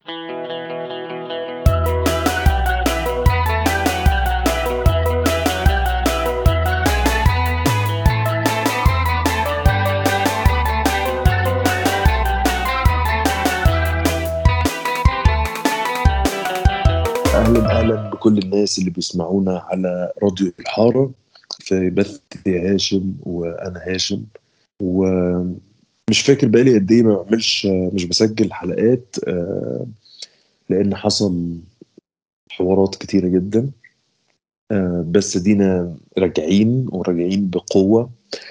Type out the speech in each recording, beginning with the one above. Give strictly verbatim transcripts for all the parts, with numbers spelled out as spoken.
أهلا أهلا بكل الناس اللي بيسمعونا على راديو الحارة في بث هاشم وأنا هاشم. ومش فاكر بقالي قد إيه ما بعملش، مش بسجل حلقات، آه، لأن حصل حوارات كتيرة جدا. آه، بس دينا راجعين وراجعين بقوة،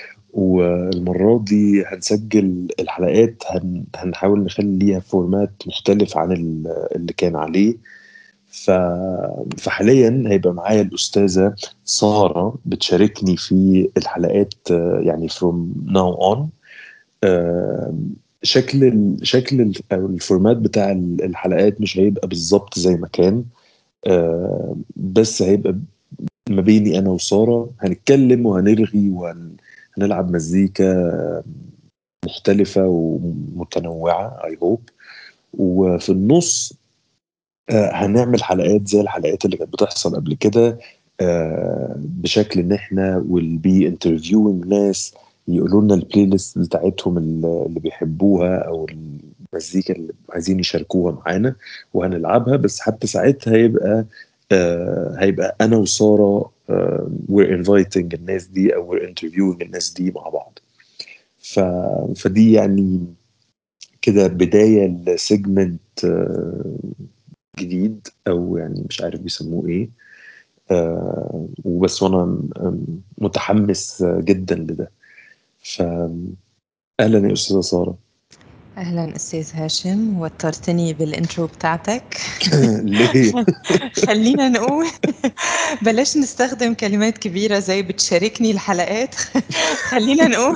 والمرة دي هنسجل الحلقات، هن هنحاول نخلي ليها فورمات مختلف عن ال- اللي كان عليه. ف... فحاليا هيبقى معايا الأستاذة سارة بتشاركني في الحلقات، آه، يعني from now on. آه، شكل ال... شكل ال... أو الفورمات بتاع ال- الحلقات مش هيبقى بالظبط زي ما كان. آه، بس هيبقى ما بيني أنا وسارة، هنتكلم وهنرغي وهنلعب مزيكا مختلفة ومتنوعة I hope. وفي النص آه، هنعمل حلقات زي الحلقات اللي كانت بتحصل قبل كده، آه، بشكل ان احنا will be interviewing ناس يقولوا لنا البلاي ليست بتاعتهم اللي اللي بيحبوها او المزيكا اللي عايزين يشاركوها معانا وهنلعبها. بس حتى ساعتها هيبقى آه، هيبقى انا وسارة آه، we're inviting الناس دي او we're interviewing الناس دي مع بعض. ف... فدي يعني كده بداية لسيجمنت جديد، او يعني مش عارف بيسموه ايه. آه وبس، وانا م- متحمس جدا لده. فاهلا يا استاذه ساره. أهلا أستاذ هاشم، وترتني بالإنترو بتاعتك. ليه؟ خلينا نقول بلاش نستخدم كلمات كبيرة زي بتشاركني الحلقات. خلينا نقول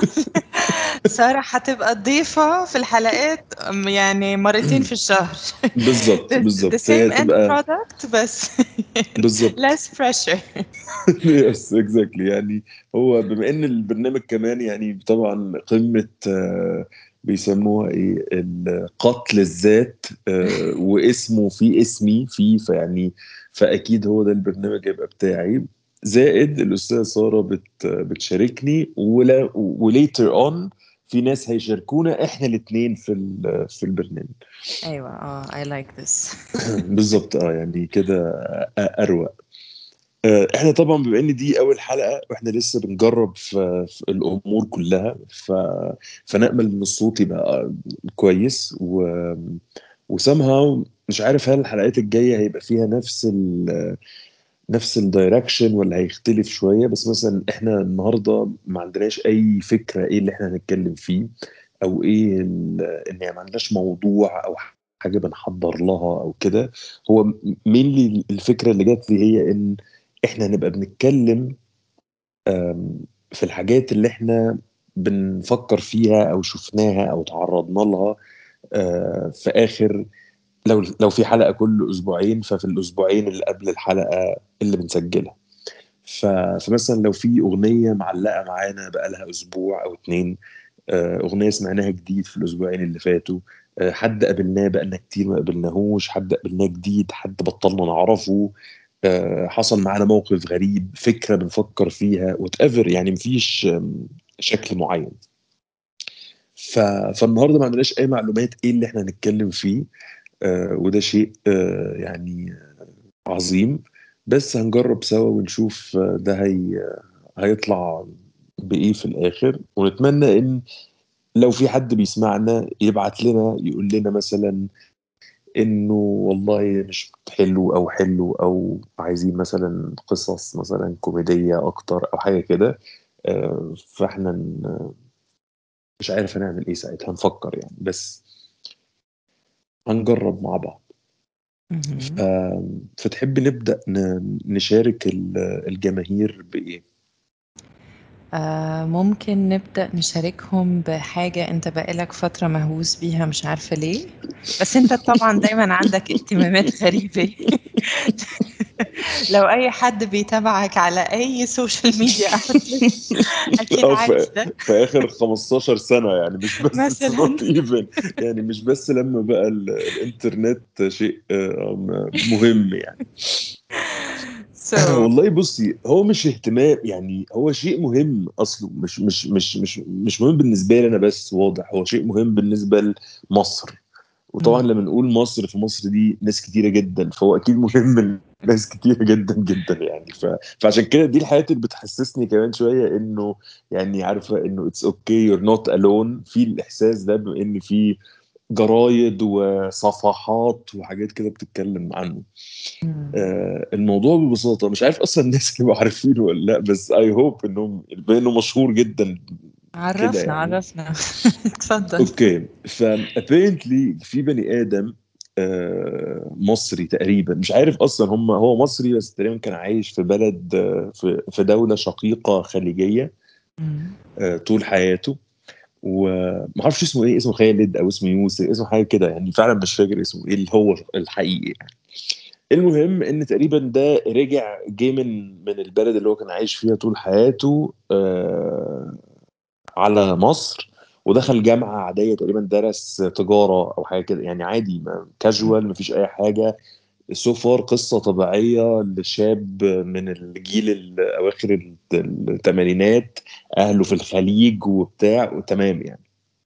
سارة هتبقى ضيفة في الحلقات، أم يعني مرتين في الشهر. بالظبط the, the بالظبط، هي same end تبقى product بس بالظبط. less pressure. يس اكزاكتلي. يعني هو بما ان البرنامج كمان يعني طبعا قمه، آه، بيسموها ايه، ال- قتل الذات، آه، واسمه في اسمي فيه، فيعني فاكيد هو ده البرنامج هيبقى بتاعي. زائد الاستاذه ساره بت بتشاركني، ولا وليتر اون في ناس هيشاركونا احنا الاثنين في ال- في البرنامج. أيوة، اه I like this. بالظبط، اه يعني كده اروق. آه، احنا طبعا بما ان دي اول حلقه واحنا لسه بنجرب في, في الامور كلها، ف... فنأمل ان الصوت يبقى كويس و وسامها. مش عارف هل الحلقات الجايه هيبقى فيها نفس ال... نفس الدايركشن ولا هيختلف شويه. بس مثلا احنا النهارده ما عندناش اي فكره ايه اللي احنا هنتكلم فيه، او ايه ال... ان يعني ما عندناش موضوع او حاجه بنحضر لها او كده. هو مين الفكره اللي جات لي هي ان احنا نبقى بنتكلم آم، في الحاجات اللي احنا بنفكر فيها او شفناها او تعرضنا لها آه، في اخر، لو لو في حلقة كل اسبوعين، ففي الاسبوعين اللي قبل الحلقة اللي بنسجلها. ف- فمثلا لو في اغنية معلقة معانا بقالها اسبوع او اتنين، آه، اغنية سمعناها جديد في الاسبوعين اللي فاتوا، آه، حد قابلناه بقالنا كتير ما قابلناهوش، حد قابلناه جديد، حد بطلنا نعرفه، آه، حصل معانا موقف غريب، فكرة بنفكر فيها وات ايفر، يعني مفيش آم، شكل معين. ف... فالنهارده ما عندناش اي معلومات ايه اللي احنا هنتكلم فيه، آه، وده شيء آه، يعني عظيم. بس هنجرب سوا ونشوف آه، ده هي... هيطلع بايه في الاخر. ونتمنى ان لو في حد بيسمعنا يبعت لنا يقول لنا مثلا انه والله مش حلو او حلو، او عايزين مثلا قصص مثلا كوميدية اكتر او حاجة كده. آه، فاحنا ن- مش عارف هنعمل ايه ساعتها، هنفكر يعني، بس هنجرب مع بعض. ف- مهم. فتحب نبدأ ن- نشارك ال- الجماهير بإيه؟ آه ممكن نبدأ نشاركهم بحاجة انت بقالك فترة مهووس بيها، مش عارفة ليه، بس انت طبعا دايما عندك اهتمامات غريبة. لو أي حد بيتابعك على أي social media outlet أكيد أو عارف في, ده في آخر خمستاشر سنة يعني، مش بس it's مثلًا. not even يعني مش بس لما بقى ال- الإنترنت شيء آه، م- مهم يعني. So والله بصي، هو مش اهتمام يعني، هو شيء مهم اصله، مش مش مش مش مش مهم بالنسبه لي انا بس، واضح هو شيء مهم بالنسبه لمصر. وطبعا إمم. لما نقول مصر، في مصر دي ناس كتيره جدا، فهو اكيد مهم لناس كتيره جدا جدا يعني. ف... فعشان كده دي الحاجات اللي بتحسسني كمان شويه انه يعني عارفه انه اتس اوكي يور نوت الون في الاحساس ده، بما ان في جرايد وصفحات وحاجات كده بتتكلم عنه. إمم. آه، الموضوع ببساطة مش عارف أصلا الناس اللي عارفينه ولا لأ، بس I hope إنهم بإنه مشهور جدا كده عرّفنا، يعني. عرّفنا. اتفضل. أوكي، ف apparently في بني آدم آه، مصري تقريبا، مش عارف أصلا هم هو مصري، بس تقريبا كان عايش في بلد آه، في في دولة شقيقة خليجية إمم. آه، طول حياته. ومعرفش اسمه إيه، اسمه خالد أو اسمه يوسف، اسمه حاجة كده يعني، فعلا مش فاكر اسمه إيه اللي هو الحقيقي. المهم ان تقريبا ده رجع جه من من البلد اللي هو كان عايش فيها طول حياته آه على مصر، ودخل جامعة عادية تقريبا، درس تجارة أو حاجة كده يعني، عادي إمم. كاجوال مفيش أي حاجة. سوفار قصة طبيعية لشاب من الجيل الأواخر الثمانينات، أهله في الخليج وبتاع وتمام يعني.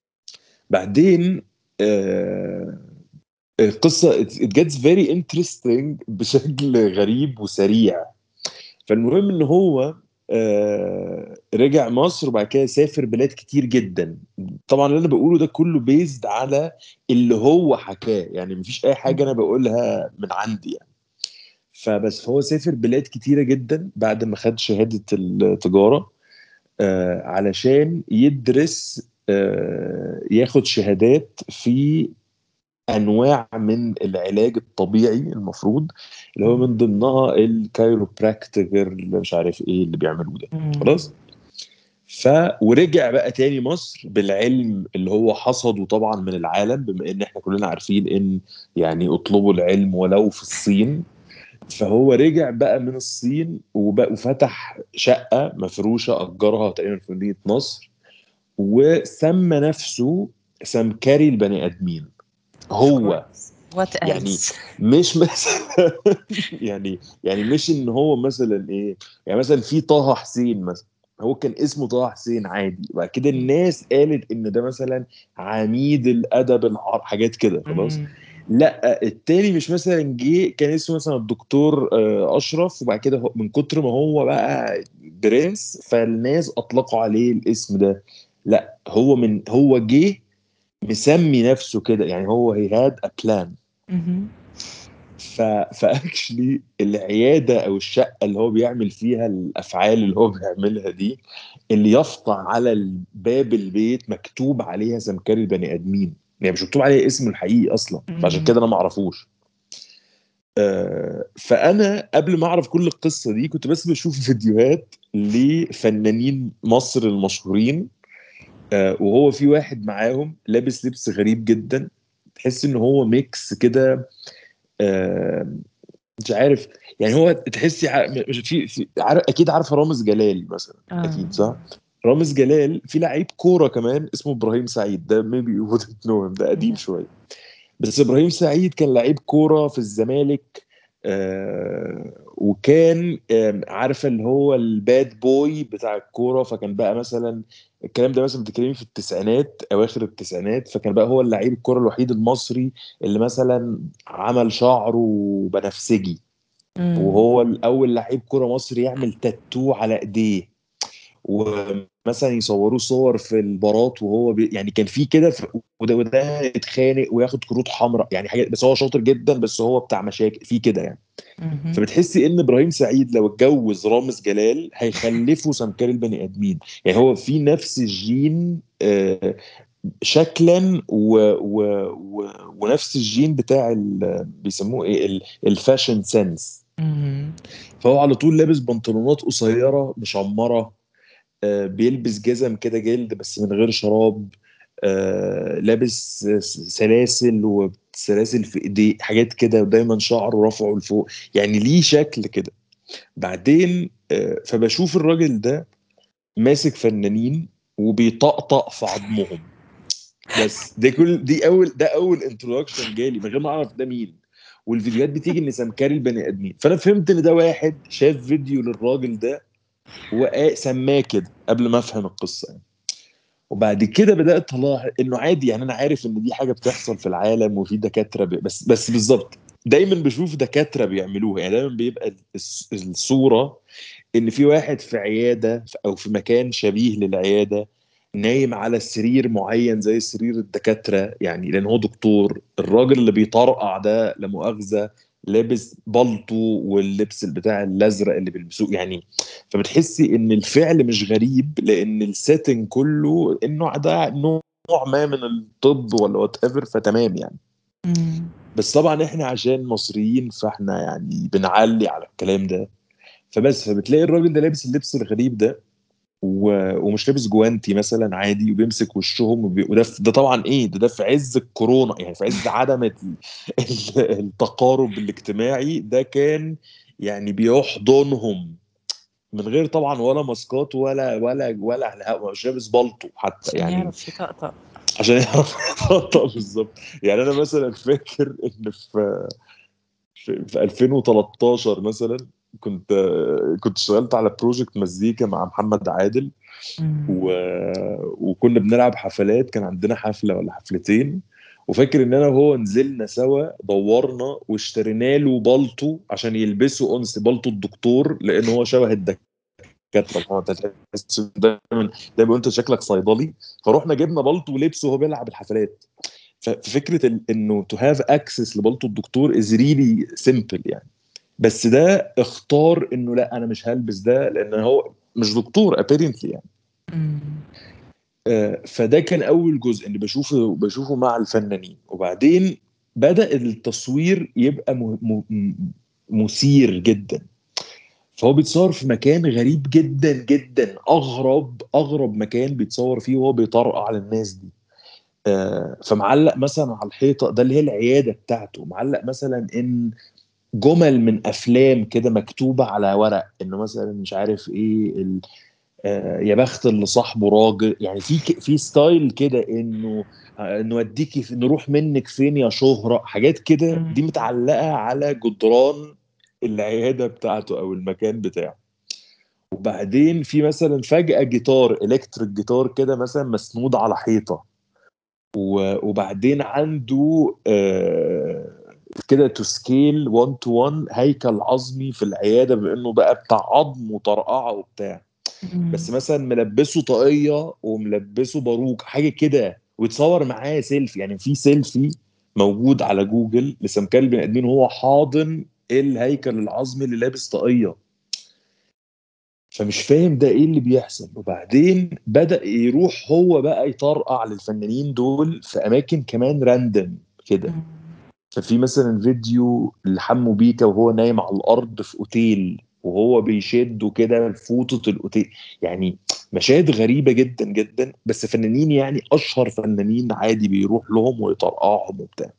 بعدين آه القصة it gets very interesting بشكل غريب وسريع. فالمهم ان هو آه رجع مصر، وبعد كده سافر بلاد كتير جدا. طبعا اللي انا بقوله ده كله بيزد على اللي هو حكاه يعني، مفيش اي حاجة انا إمم. بقولها من عندي يعني. فبس هو سافر بلاد كتيرة جدا بعد ما خد شهادة التجارة آه علشان يدرس آه ياخد شهادات في انواع من العلاج الطبيعي المفروض، اللي هو إمم. من ضمنها الكايروبراكتيكر اللي مش عارف ايه اللي بيعملوه ده. إمم. خلاص. ف ورجع بقى تاني مصر بالعلم اللي هو حصده طبعا من العالم، بما ان احنا كلنا عارفين ان يعني اطلبوا العلم ولو في الصين. فهو رجع بقى من الصين وبقى وفتح شقة مفروشة أجرها تقريبا في مدينة نصر، وسمى نفسه سمكري البني آدمين. Of هو course. What يعني else؟ مش مثلا يعني يعني مش ان هو مثلا ايه، يعني مثلا في طه حسين مثلا، هو كان اسمه طه حسين عادي، وبعد كده إمم. الناس قالت ان ده مثلا عميد الادب العربي، حاجات كده خلاص. إمم. لا التاني مش مثلا جه كان اسمه مثلا الدكتور آه، اشرف، وبعد كده هو- من كتر ما هو بقى برنس فالناس اطلقوا عليه الاسم ده. لا هو من هو جه مسمي نفسه كده يعني، هو هي هاد ا بلان. اهم. ف فاكشلي العياده او الشقه اللي هو بيعمل فيها الافعال اللي هو بيعملها دي، اللي يافطة على باب البيت مكتوب عليها سمكري البني ادمين، يعني مش مكتوب عليها اسمه الحقيقي اصلا، فعشان إمم. كده انا ما اعرفوش. آه، فانا قبل ما اعرف كل القصه دي كنت بس بشوف فيديوهات لفنانين مصر المشهورين آه، وهو في واحد معاهم لابس لبس غريب جدا، تحس ان هو ميكس كده آه، مش عارف يعني. هو تحسي ع- مش في, في عارف اكيد عارفه رامز جلال مثلا، آه. اكيد صح. رامز جلال في لعيب كوره كمان اسمه ابراهيم سعيد، ده maybe you wouldn't know him، ده قديم لأ. شويه. بس ابراهيم سعيد كان لعيب كوره في الزمالك آه وكان آه عارفه اللي هو الباد بوي بتاع الكوره، فكان بقى مثلا الكلام ده مثلا بتتكلمي في التسعينات اواخر التسعينات، فكان بقى هو اللعيب الكوره الوحيد المصري اللي مثلا عمل شعره بنفسجي، إمم. وهو الاول لعيب كوره مصري يعمل تاتو على ايديه، ومثلا يصوروا صور في البارات وهو بي يعني كان في كده ف- وده وده يتخانق وياخد كروت حمراء يعني حاجات، بس هو شاطر جدا، بس هو بتاع مشاكل في كده يعني. اهم. فبتحسي ان ابراهيم سعيد لو اتجوز رامز جلال هيخلفوا سمكري البني ادمين، يعني هو في نفس الجين آه، شكلا و و و ونفس الجين بتاع ال- بيسموه ايه ال- الفاشن سنس. اهم. فهو على طول لابس بنطلونات قصيره مشمره، آه، بيلبس جزم كده جلد بس من غير شراب، آه، لابس س- سلاسل سلاسل في ايديه، حاجات كده، ودايما شعره رافعه لفوق، يعني ليه شكل كده. بعدين آه، فبشوف الراجل ده ماسك فنانين وبيطقطق في عظمهم. بس ده كل دي اول ده اول انتروداكشن جالي من غير ما اعرف ده مين. والفيديوهات بتيجي ان سمكري البني ادمين، فانا فهمت ان ده واحد شاف فيديو للراجل ده وسماه كده قبل ما افهم القصه يعني. وبعد كده بدات الاحظ انه عادي، يعني انا عارف ان دي حاجه بتحصل في العالم وفي دكاتره بي... بس بس بالظبط دايما بشوف دكاتره بيعملوها، يعني دايما بيبقى الص- الصوره ان في واحد في عياده او في مكان شبيه للعياده نايم على سرير معين زي سرير الدكاتره، يعني لان هو دكتور. الراجل اللي بيطرقع ده لا مؤاخذه لابس بالطو واللبس بتاع الازرق اللي بيلبسوه يعني. فبتحسي ان الفعل مش غريب لان السيتنج كله انه ده نوع ما من الطب ولا وات ايفر، فتمام يعني. مم. بس طبعا احنا عشان مصريين فاحنا يعني بنعلي على الكلام ده. فبس فبتلاقي الراجل ده لابس اللبس الغريب ده و... ومش لابس جوانتي مثلا عادي، وبيمسك وشهم وبي... وده في... ده طبعا ايه ده ده في عز الكورونا، يعني في عز عدم ال... ال- التقارب الاجتماعي ده كان يعني بيحضنهم من غير طبعا ولا ماسكات ولا ولا ولا مش لابس بالطو حتى عشان يعني يعرف يطقطق. عشان يعرف يطبطب بالظبط. يعني انا مثلا فاكر ان في في, في ألفين وتلتاشر مثلا كنت كنت اشتغلت على بروجكت مزيكا مع محمد عادل مم. و... وكنا بنلعب حفلات، كان عندنا حفلة ولا حفلتين. وفاكر ان انا وهو نزلنا سوا دورنا واشترينا له بالطو عشان يلبسه انس بالطو الدكتور، لان هو شبه الدكاتره. هو انت تحس دايما دايما انت شكلك صيدلي. فروحنا جبنا بالطو ولبسه وهو بيلعب الحفلات. ففكره ال- انه تو هاف اكسس لبالطو الدكتور از ريلي سيمبل يعني. بس ده اختار انه لا انا مش هلبس ده لان هو مش دكتور ابيرنتلي يعني. مم. آه، فده كان اول جزء اللي بشوفه بشوفه مع الفنانين. وبعدين بدأ التصوير يبقى م- م- مثير جدا. فهو بيتصور في مكان غريب جدا جدا، اغرب اغرب مكان بيتصور فيه وهو بيطرقع على الناس دي. آه، فمعلق مثلا على الحيطه ده اللي هي العياده بتاعته، معلق مثلا ان جمل من افلام كده مكتوبه على ورق، انه مثلا مش عارف ايه ال... آه، يا بخت اللي صاحبه راجل، يعني في ك... في ستايل كده انه آه، نوديكي في... نروح منك فين يا شهرة، حاجات كده مم. دي متعلقة على جدران العيادة بتاعته او المكان بتاعه. وبعدين في مثلا فجأة جيتار الكتريك جيتار كده مثلا مسنود على حيطة. و- وبعدين عنده آه، كده تو سكيل واحد تو واحد هيكل عظمي في العياده بانه بقى بتاع عظم وطرقعه وبتاع. مم. بس مثلا ملبسه طاقيه وملبسه باروك حاجه كده، ويتصور معاه سيلفي. يعني في سيلفي موجود على جوجل لسمكري البني ادمين وهو حاضن الهيكل العظمي اللي لابس طاقيه. فمش فاهم ده ايه اللي بيحصل. وبعدين بدأ يروح هو بقى يطرقع للفنانين دول في اماكن كمان راندم كده. مم. ففي مثلا فيديو لحمو بيكا وهو نايم على الارض في اوتيل وهو بيشده كده لفوطة الاوتيل، يعني مشاهد غريبة جدا جدا. بس فنانين يعني اشهر فنانين عادي بيروح لهم ويطرقعهم وبتاع.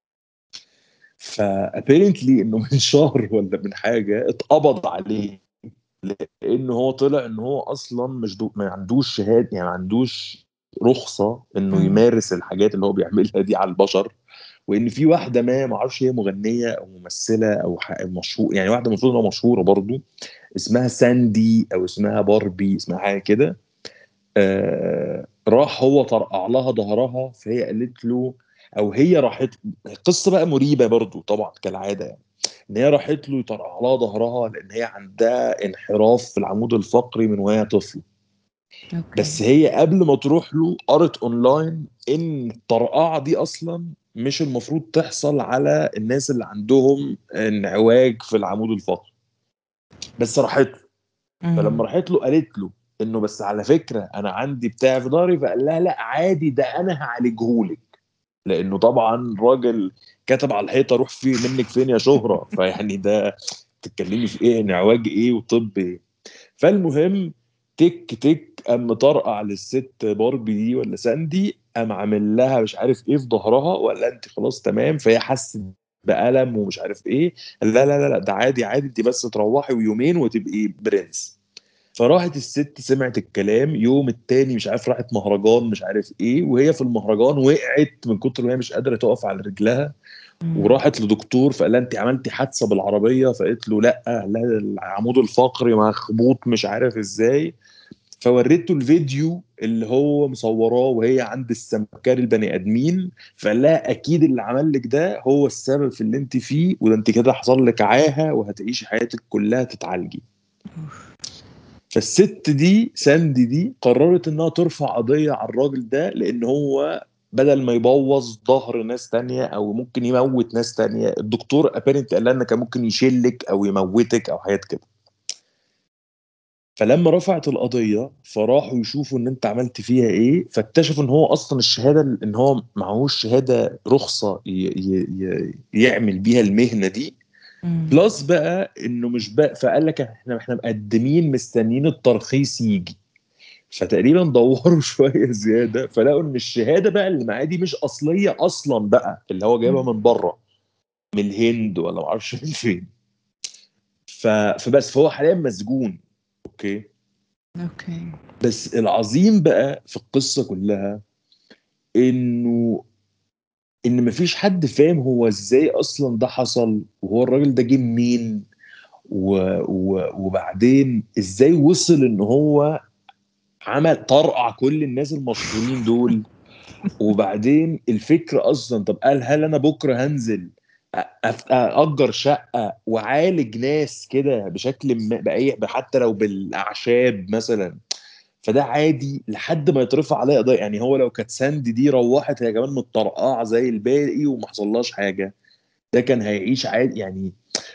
فابيرنتلي انه من شهر ولا من حاجة اتقبض عليه، لان هو طلع ان هو اصلا مش دو... ما عندوش شهاده، يعني ما عندوش رخصه انه مم. يمارس الحاجات اللي هو بيعملها دي على البشر. وان في واحده ما ما اعرفش هي مغنيه او ممثله او ح- مشهور، يعني واحده المفروض انها مشهوره برضو، اسمها ساندي او اسمها باربي اسمها حاجه كده. آه راح هو طرقع لها ظهرها فهي قالت له، او هي راحت. قصه بقى مريبه برضو طبعا كالعاده يعني. ان هي راحت له يطرقع لها ظهرها لان هي عندها انحراف في العمود الفقري من وهي طفله. اوكي. بس هي قبل ما تروح له قرت اونلاين ان الطرقعه دي اصلا مش المفروض تحصل على الناس اللي عندهم انعواج في العمود الفقري. بس راحت له. مم. فلما راحت له قالت له انه بس على فكره انا عندي بتاع في ظهري، فقال لها لا عادي ده انا هعالجهولك. لانه طبعا راجل كتب على الحيطه روح في منك فين يا شهره، فيعني ده تتكلمي في ايه انعواج ايه وطب ايه. فالمهم تك تك قام مطرقع للست باربي دي ولا ساندي، قام عامل لها مش عارف ايه في ظهرها، ولا انت خلاص تمام، فهي حست بألم ومش عارف ايه. لا لا لا لا، ده عادي عادي، انت بس تروحي ويومين وتبقي برنس. فراحت الست سمعت الكلام، يوم التاني مش عارف راحت مهرجان مش عارف ايه، وهي في المهرجان وقعت من كتر ما هي مش قادره تقف على رجلها، مم. وراحت لدكتور فقال لها انت عملتي حادثه بالعربيه، فقالت له لا لا، العمود الفقري مخبوط مش عارف ازاي. فوريته الفيديو اللي هو مصوراه وهي عند السمكري البني ادمين، فقال لها اكيد اللي عمل لك ده هو السبب في اللي انت فيه، وده انت كده حصل لك عاهه وهتعيشي حياتك كلها تتعالجي. أوف. فالست دي ساندي دي قررت انها ترفع قضيه على الراجل ده، لان هو بدل ما يبوظ ظهر ناس تانية او ممكن يموت ناس تانية، الدكتور ابيرنت قال لها ان كان ممكن يشلك او يموتك او حاجات كده. فلما رفعت القضية فراحوا يشوفوا ان انت عملت فيها ايه، فاكتشفوا ان هو اصلا الشهادة ان هو معهوش شهادة رخصة ي ي ي يعمل بيها المهنة دي. مم. بلس بقى انه مش بقى، فقال لك احنا احنا مقدمين مستنيين الترخيص يجي. فتقريبا دوروا شوية زيادة، فلقوا ان الشهادة بقى اللي معاه دي مش اصلية اصلا بقى، اللي هو جايبها مم. من بره، من الهند ولا معرفش من فين. ف... فبس فهو حاليا مسجون. اوكي. اوكي. بس العظيم بقى في القصة كلها انه ان مفيش حد فاهم هو ازاي اصلا ده حصل، وهو الراجل ده جه منين، و... و... وبعدين ازاي وصل ان هو عمل طرقع كل الناس المشهورين دول. وبعدين الفكرة اصلا، طب قال هل انا بكرة هنزل أ- أف- اجر شقة وعالج ناس كده بشكل ما بأي، حتى لو بالاعشاب مثلا، فده عادي لحد ما يترفع عليها قضيه. يعني هو لو كانت ساندي دي روحت هي كمان متطرقعه زي الباقي وما حصلهاش حاجه، ده كان هيعيش عادي يعني.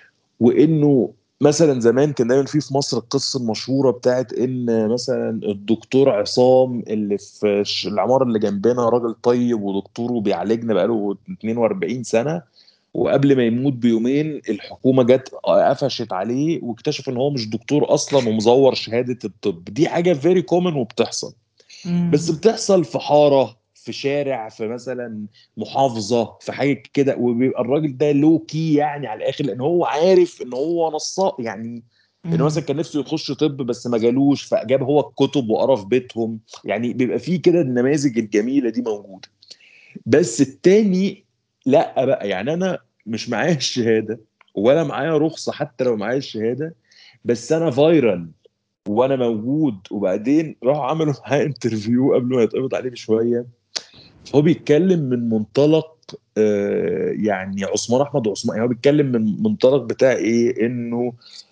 وانه مثلا زمان كان دايما في في مصر القصه المشهوره بتاعت ان مثلا الدكتور عصام اللي في الش- العماره اللي جنبنا راجل طيب ودكتور وبيعالجنا بقاله اتنين واربعين سنه، وقبل ما يموت بيومين الحكومه جت قفشت عليه واكتشف ان هو مش دكتور اصلا ومزور شهاده الطب. دي حاجه فيري كومن وبتحصل، بس مم. بتحصل في حاره، في شارع، في مثلا محافظه، في حاجه كده، وبيبقى الراجل ده لو كي يعني على الاخر، لان هو عارف ان هو نصاب يعني. انه مم. مثلا كان نفسه يخش طب بس ما جالوش، فجاب هو الكتب وقرا في بيتهم. يعني بيبقى فيه كده النماذج الجميله دي موجوده. بس التاني لا بقى، يعني انا مش معايا الشهاده ولا معايا رخصه حتى لو معايا الشهاده، بس انا فايرال وانا موجود. وبعدين راحوا عملوا معاه انترفيو قبل ما يتقبض عليه بشويه، فهو بيتكلم من منطلق آه يعني عثمان احمد عثمان، يعني هو بيتكلم من منطلق بتاع ايه، انه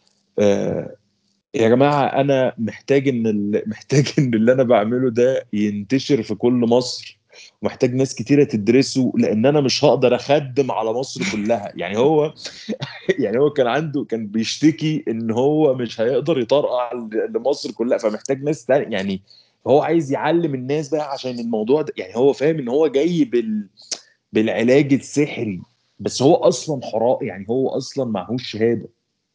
آه يا جماعه انا محتاج ان ال- محتاج ان اللي انا بعمله ده ينتشر في كل مصر، ومحتاج ناس كتيره تدرسه، لان انا مش هقدر اخدم على مصر كلها. يعني هو يعني هو كان عنده كان بيشتكي ان هو مش هيقدر يطرقع ل- لمصر كلها، فمحتاج ناس تانية يعني. هو عايز يعلم الناس بقى عشان الموضوع ده، يعني هو فاهم ان هو جاي بال بالعلاج السحري، بس هو اصلا حراء، يعني هو اصلا معهوش شهاده.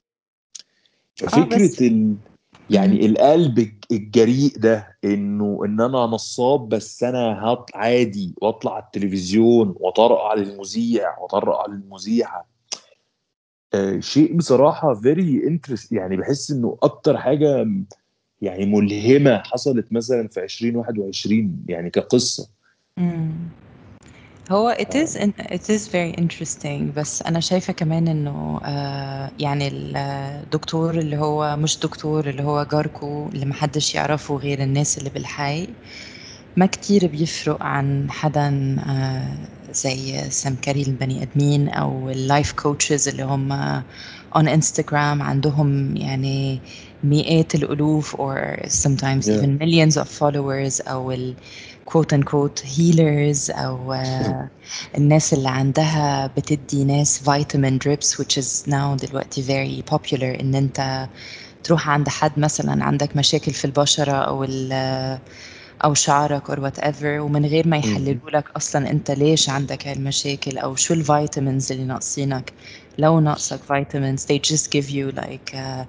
اه بس. ففكره ال مم. يعني القلب الج- الجريء ده، انه ان انا نصاب بس انا هط عادي واطلع على التلفزيون واطرقع للمذيع واطرقع للمذيعه. آه، شيء بصراحة very interest، يعني بحس انه اكتر حاجة يعني ملهمة حصلت مثلا في ألفين وواحد وعشرين يعني كقصة. مم. هو it is in- it is very interesting، بس أنا شايفة كمان إنه آه يعني الدكتور اللي هو مش دكتور، اللي هو جاركو اللي محدش يعرفه غير الناس اللي بالحي، ما كتير بيفرق عن حدا آه زي سمكري البني آدمين أو اللايف كوتشز اللي هم on Instagram عندهم يعني مئات الألوف or sometimes yeah. even millions of followers، أو ال quote unquote healers، أو آه الناس اللي عندها بتدي ناس vitamin drips which is now دلوقتي very popular، إن أنت تروح عند حد مثلا عندك مشاكل في البشرة أو ال أو شعرك or whatever، ومن غير ما مم. يحللوا لك أصلا أنت ليش عندك هالمشاكل أو شو الفيتامينز اللي ناقصينك. لو ناقصك vitamins they just give you like uh,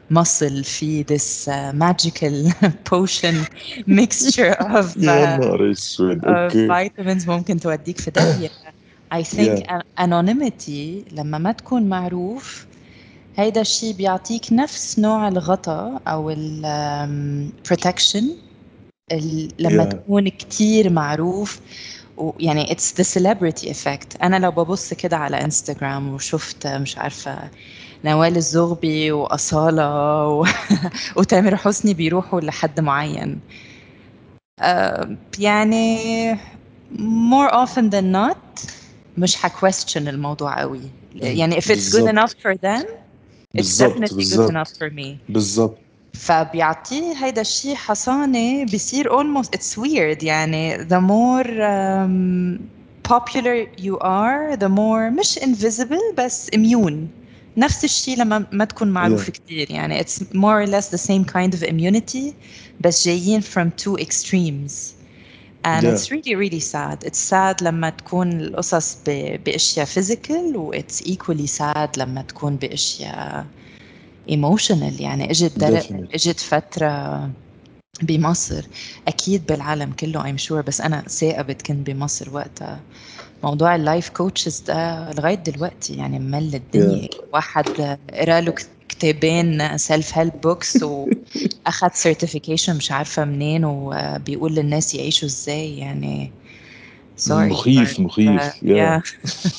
muscle في this uh, magical potion mixture of يا uh, نهار اسود. of اوكي. vitamins ممكن توديك في داهية. I think يا an- anonymity لما ما تكون معروف هيدا الشيء بيعطيك نفس نوع الغطاء أو ال um, protection ال- لما يا تكون كتير معروف. ويعني it's the celebrity effect. أنا لو ببص كده على انستغرام وشفت مش عارفة نوال الزغبي وأصالة و... وتامر حسني بيروحوا لحد معين، آه، يعني more often than not مش question الموضوع قوي. يعني if it's good enough بالظبط for them it's بالظبط definitely good enough بالظبط for me. بالظبط. فبيعطيه هيدا الشيء حصانة بيصير almost it's weird. يعني the more um, popular you are the more مش invisible بس immune. نفس الشيء لما ما تكون يا معروف كتير. يعني it's more or less the same kind of immunity بس جايين from two extremes. and يا it's really really sad. It's sad لما تكون القصص ب- بأشياء physical و it's equally sad لما تكون بأشياء ايموشنال. يعني اجت در... definitely. اجت فتره بمصر، اكيد بالعالم كله ايم شور، بس انا ثاقبت كنت بمصر وقتها. موضوع اللايف كوتشز ده لغايه دلوقتي يعني ممل يا الدنيا. واحد قرا له كتابين سيلف هيلب بوكس واخد سيرتيفيكيشن مش عارفه منين وبيقول للناس يعيشوا ازاي. يعني سوري مخيف مخيف. يا يا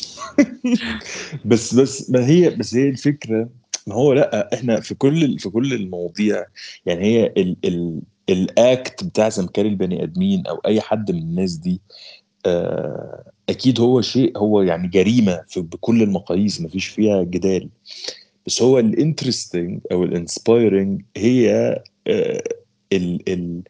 بس بس ما هي بس هي الفكره. ما هو لا، احنا في كل في كل المواضيع، يعني هي ال ال الاكت بتاع سمكري البني ادمين او اي حد من الناس دي، آه، اكيد هو شيء، هو يعني جريمه في بكل المقاييس، ما فيش فيها جدال. بس هو الانترستنج او الانسبايرنج هي آه، ال ال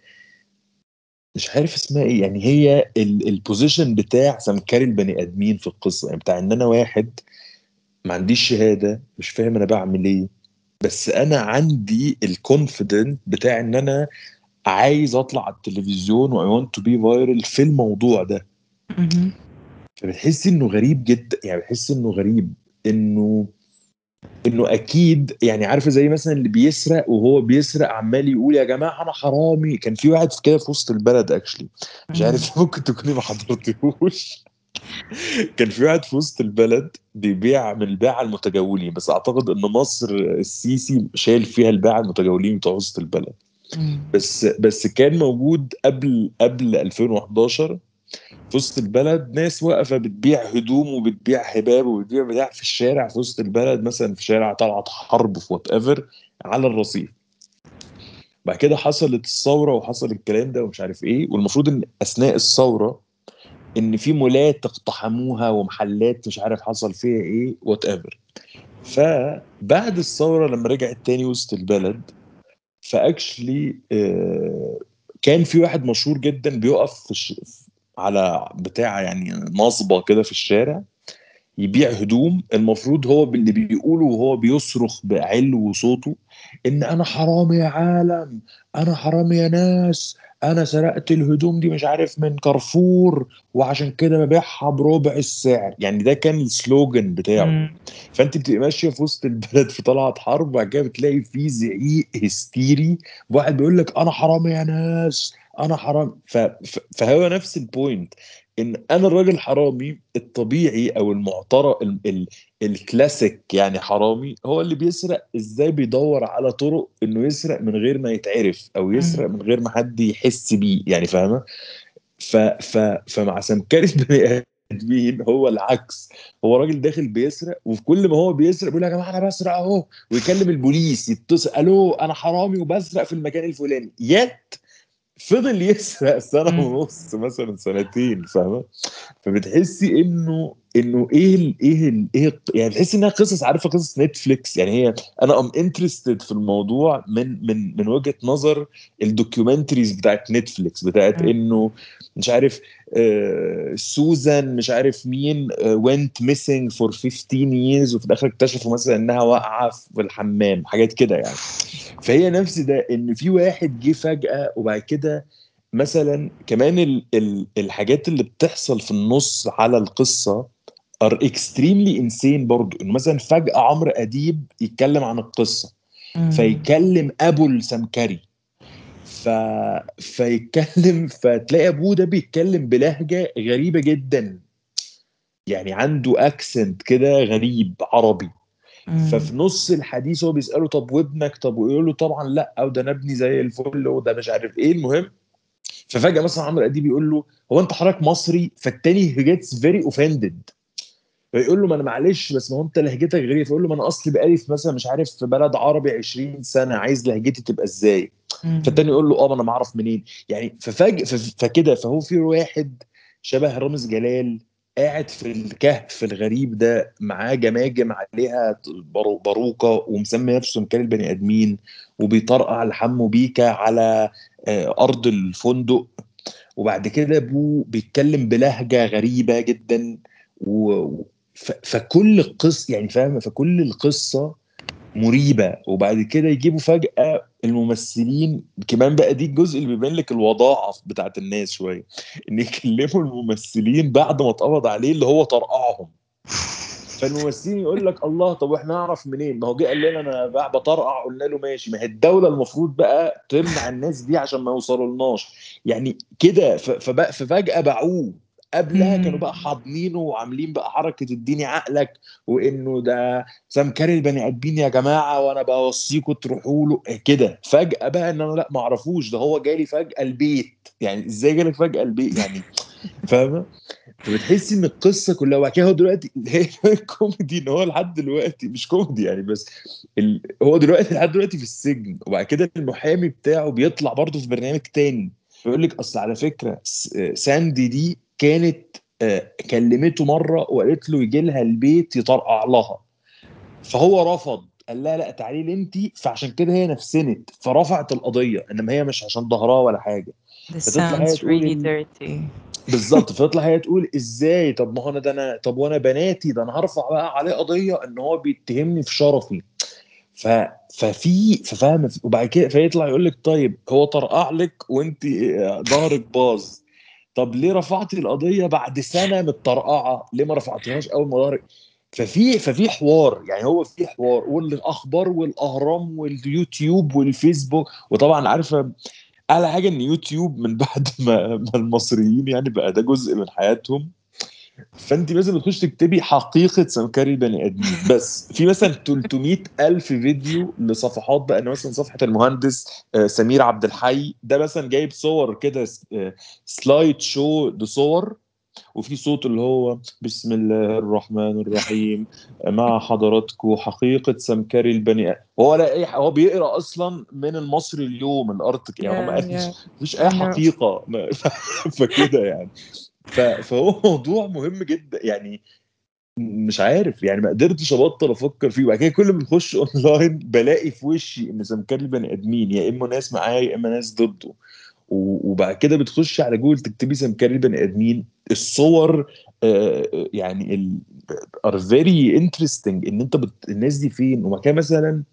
مش عارف اسمها ايه، يعني هي البوزيشن بتاع سمكري البني ادمين في القصه، يعني بتاع ان انا واحد ما عنديش شهاده، مش فاهم انا بعمل ايه، بس انا عندي الكونفيدنت بتاع ان انا عايز اطلع على التلفزيون و I want to be viral في الموضوع ده. مهم. فبتحس انه غريب جدا، يعني بتحس انه غريب انه انه اكيد، يعني عارفه زي مثلا اللي بيسرق وهو بيسرق عمال يقول يا جماعه انا حرامي. كان في واحد في كده في وسط البلد اكشلي، مش مم. عارف ممكن تكوني ما حضرتهوش. كان في واحد في وسط البلد بيبيع من الباعة المتجولين، بس اعتقد ان مصر السيسي شايل فيها الباعة المتجولين بتوع وسط البلد. مم. بس بس كان موجود قبل قبل ألفين وحداشر في وسط البلد ناس واقفه بتبيع هدوم وبتبيع هباب وبتبيع بتاع في الشارع في وسط البلد، مثلا في شارع طلعت حرب في وات ايفر على الرصيف. بعد كده حصلت الثوره وحصل الكلام ده ومش عارف ايه، والمفروض ان اثناء الثوره ان في مولات اقتحموها ومحلات مش عارف حصل فيها ايه وات ايفر. فبعد الثوره لما رجعت تاني وسط البلد، فاكشلي آه، كان في واحد مشهور جدا بيقف في الش... على بتاع يعني نصبه كده في الشارع يبيع هدوم. المفروض هو اللي بيقوله وهو بيصرخ بعلو صوته ان انا حرامي يا عالم، انا حرامي يا ناس، انا سرقت الهدوم دي مش عارف من كارفور وعشان كده ببيعها بربع السعر. يعني ده كان السلوجن بتاعه. مم. فانت بتبقى ماشيه في وسط البلد في طلعت حرب، وبعد كده بتلاقي في زعيق هستيري، واحد بيقول لك انا حرامي يا ناس، انا حرام. ف... ف... فهو نفس البوينت، ان انا الراجل حرامي الطبيعي او المعترف ال... ال... الكلاسيك، يعني حرامي هو اللي بيسرق ازاي بيدور على طرق انه يسرق من غير ما يتعرف او مم. يسرق من غير ما حد يحس بيه، يعني فاهمه. ف ف فمع سمكري البني ادمين هو العكس. هو راجل داخل بيسرق، وفي كل ما هو بيسرق بيقول يا جماعه انا بسرق اهو، ويكلم البوليس يتصل الو انا حرامي وبسرق في المكان الفلاني. يت فضل يسرق سنه مم. ونص مثلا سنتين، فاهمه. فبتحسي انه انه ايه ال ايه ال ايه ال- يعني تحسي انها قصص، عارفه قصص نتفليكس. يعني هي انا ام انترستد في الموضوع من من من وجهه نظر الدوكيومنتريز بتاعت نتفليكس، بتاعت مم. انه مش عارف آه سوزان مش عارف مين went missing for fifteen years وفي الاخر اكتشفوا مثلا انها واقعه في الحمام، حاجات كده يعني. فهي نفس ده، ان في واحد جه فجأة وبعد كده مثلا كمان ال ال الحاجات اللي بتحصل في النص على القصة are extremely insane برضو. انه مثلا فجأة عمرو أديب يتكلم عن القصة، فيكلم ابو السمكري ف... فيتكلم فتلاقي ابوه ده بيتكلم بلهجه غريبه جدا، يعني عنده اكسنت كده غريب عربي. ففي نص الحديث هو بيساله طب وابنك، طب ويقول له طبعا لا، او ده انا ابني زي الفل وده مش عارف ايه. المهم ففجاه مثلا عمرو اديب يقول له هو انت حضرتك مصري؟ فالتاني جيتس فيري اوفندد، فيقول له ما انا معلش بس ما هو انت لهجتك غريبه. فيقول له ما انا اصلي بقالي في مثلا مش عارف في بلد عربي عشرين سنه، عايز لهجتي تبقى ازاي؟ فالتاني يقول له اه ما انا ما اعرف منين يعني. ففجأة فكده فهو في واحد شبه رامز جلال قاعد في الكهف الغريب ده، معاه جماجم عليها برو- باروكه، ومسمي نفسه مكان البني ادمين، وبيطرقع لحمه بيكا على آه، ارض الفندق. وبعد كده ابوه بيتكلم بلهجه غريبه جدا و... ف... فكل القصه يعني فاهم، فكل القصه مريبه. وبعد كده يجيبوا فجاه الممثلين كمان بقى، دي الجزء اللي بيبين لك الوضاعه بتاعت الناس شويه، ان يكلموا الممثلين بعد ما اتقبض عليه اللي هو طرقعهم. فالممثلين يقول لك الله طب واحنا نعرف منين؟ ما هو جه قال لنا انا بقى بطرقع، قلنا له ماشي. ما هي الدوله المفروض بقى تمنع الناس دي عشان ما يوصلولناش يعني كده. ف- فبقى ففجاه باعوه. قبلها كانوا بقى حاضنينه وعاملين بقى حركه اديني عقلك، وانه ده سمكري البني ادمين يا جماعه وانا بوصيكم تروحوا له كده. فجاه بقى ان انا لا ما اعرفوش، ده هو جالي فجاه البيت. يعني ازاي جالك فجاه البيت يعني؟ فاهمه؟ فبتحسي ان القصه كلها. وبعد كده هو دلوقتي هي الكوميدي ان هو لحد دلوقتي مش كوميدي يعني، بس ال... هو دلوقتي لحد دلوقتي في السجن. وبعد كده المحامي بتاعه بيطلع برضه في برنامج تاني بيقول لك اصل على فكره س- ساندي دي كانت آه، كلمته مره وقالت له يجي لها البيت يطرقع لها، فهو رفض، قال لها لا تعالي لي انت. فعشان كده هي نفسنت فرفعت القضيه، انما هي مش عشان ظهرها ولا حاجه. This فتطلع هي sounds really تقول dirty. بالظبط، فتطلع هي تقول ازاي؟ طب ما هو انا ده انا طب وانا بناتي ده انا هرفع بقى عليه قضيه ان هو بيتهمني في شرفي. ف ففي ففاهم. وبعد كده فيطلع يقول لك طيب هو طرقع لك وانت ظهرك باظ، طب ليه رفعتي القضيه بعد سنه متطرقعه؟ ليه ما رفعتيهاش اول ما ظهرك؟ ففي ففي حوار يعني، هو في حوار، والاخبار والاهرام واليوتيوب والفيسبوك. وطبعا عارفه اعلى حاجه ان يوتيوب من بعد ما, ما المصريين يعني بقى ده جزء من حياتهم. فانت لازم تخش تكتبي حقيقه سمكري البني ادمين، بس في مثلا ثلاثمائة الف فيديو لصفحات بقى. ان مثلا صفحه المهندس آه، سمير عبد الحي ده مثلا جايب صور كده، آه، سلايد شو لصور، وفي صوت اللي هو بسم الله الرحمن الرحيم مع حضراتكم حقيقة سمكري البني آدم. هو لا أي هو بيقرأ أصلا من المصري اليوم الأرض يعني، هو ما Yeah, yeah, قالش مفيش أي I know. حقيقة ما- فكده يعني. ف- فهو موضوع مهم جدا يعني. مش عارف يعني، ما قدرتش ابطل افكر فيه. وبعد كده كل ما بخش اونلاين بلاقي في وشي ان سمكري البني ادمين يا اما ناس معايا يا اما ناس ضده. و- وبعد كده بتخش على جوجل تكتبي سمكري البني ادمين، الصور آه، آه، يعني ال are very interesting ان انت بت... الناس دي فين. وبعد كده مثلا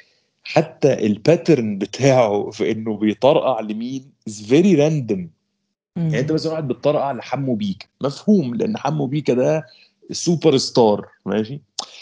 حتى الباترن بتاعه في انه بيطرقع لمين is very random. يعني انت Mm. مثلا واحد بتطرقع لحمو بيكا مفهوم لان حمو بيكا ده سوبر ستار ماشي،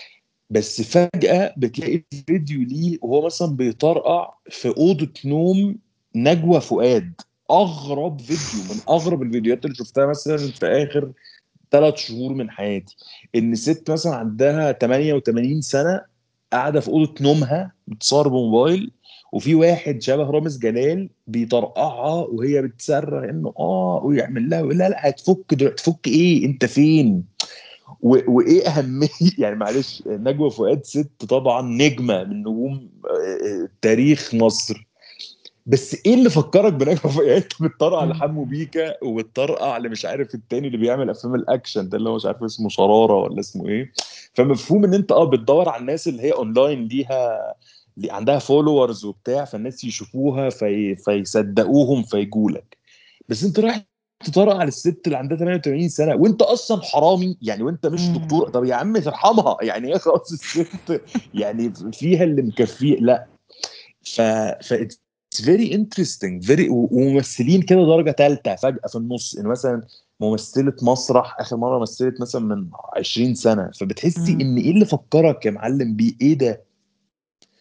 بس فجأة بتلاقي فيديو ليه وهو مثلا بيطرقع في أوضة نوم نجوى فؤاد. أغرب فيديو من أغرب الفيديوهات اللي شفتها مثلا في آخر ثلاث شهور من حياتي. إن ست مثلا عندها ثمانية وثمانين سنة قاعدة في أوضة نومها بتصور بموبايل، وفي واحد شبه رامز جلال بيطرقعها وهي بتصرخ انه اه ويعمل لها ويقول لها لا هتفك دلوقتي. تفك ايه؟ انت فين؟ و- وايه اهميه يعني معلش نجوى فؤاد ست طبعا نجمه من نجوم آه، تاريخ مصر، بس ايه اللي فكرك بنجوى فؤاد؟ يعني انت بتطرقع Mm. لحمو بيكا وبتطرقع اللي مش عارف التاني اللي بيعمل افلام الاكشن ده اللي هو مش عارف اسمه شراره ولا اسمه ايه. فمفهوم ان انت اه بتدور على الناس اللي هي اونلاين ليها اللي عندها فولورز وبتاع، فالناس يشوفوها في... فيصدقوهم فيجولك. بس انت رايح تطرق على الست اللي عندها ثمانية وثمانين سنه وانت اصلا حرامي يعني، وانت مش Mm. دكتور. طب يا عم ترحمها يعني، هي خلاص الست يعني فيها اللي مكفيه. لا ف ف اتس فيري انترستنج فيري. وممثلين كده درجه ثالثه فجاه في النص، ان مثلا ممثله مسرح اخر مره مثلت مثلا من عشرين سنه، فبتحسي Mm. ان ايه اللي فكرك يا معلم بيه ايه ده.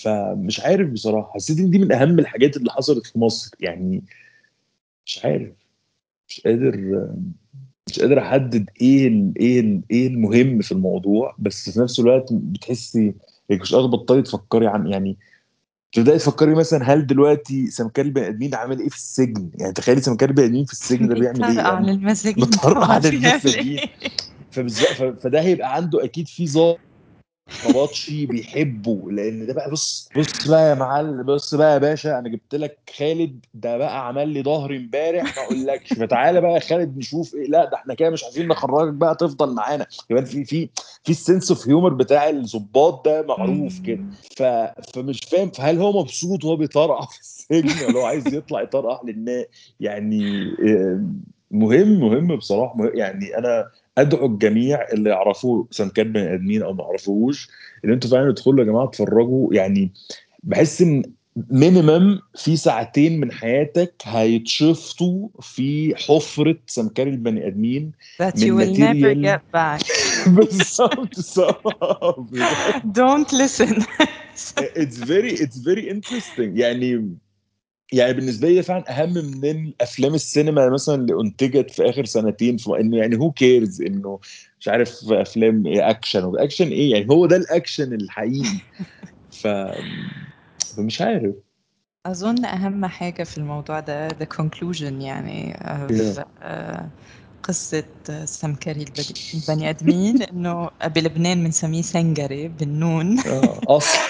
فمش عارف بصراحه، حسيت ان دي من اهم الحاجات اللي حصلت في مصر يعني. مش عارف، مش قادر مش قادر احدد ايه ال ايه ال ايه المهم في الموضوع، بس في نفس الوقت بتحسي انك مش قادره تبطلي تفكري عن يعني. تبداي تفكري مثلا هل دلوقتي سمكري البني ادمين عامل ايه في السجن؟ يعني تخيلي سمكري البني ادمين في السجن ده بيعمل ايه بيطرقع يعني. للمساجين بتطرقع طبعا بيعمل للمساجين. ايه. فبالظبط ف- فده هيبقى عنده اكيد في نبطشي بيحبه، لان ده بقى بص بص بقى يا معلم، بص بقى يا باشا، انا جبت لك خالد ده بقى عمل لي ظهري امبارح ما اقولكش، فتعالى بقى يا خالد نشوف ايه. لا ده احنا كده مش عايزين نخرجك بقى تفضل معانا كمان. في في في السنس اوف هيومر بتاع الضباط ده معروف كده. مم. ف فمش فاهم، فهل هو مبسوط وهو بيطرقع في السجن ولا هو عايز يطلع يطرقع للناس يعني؟ آه، مهم مهم بصراحه، مهم يعني. انا ادعو الجميع اللي يعرفوا سمكات بني ادمين او ما يعرفوش ان انتوا فعلا تدخلوا يا جماعه تتفرجوا يعني. بحس ان مينيمم في ساعتين من حياتك هيتشفطوا في حفره سمكري البني ادمين that you من will never ماتيريال. get back. بالظبط صح بجد. Don't listen. it's very it's very interesting يعني. يعني بالنسبه لي فعلا اهم من الافلام السينما مثلا اللي انتجت في اخر سنتين، في انه يعني هو كيرز انه مش عارف افلام إيه اكشن واكشن ايه يعني. هو ده الاكشن الحقيقي. ف فمش عارف. أظن أهم حاجة في الموضوع ده the conclusion يعني yeah. في آه، قصة سمكري البدي- البني آدمين، إنه بلبنان بنسميه سنجري بالنون. اه اصلا.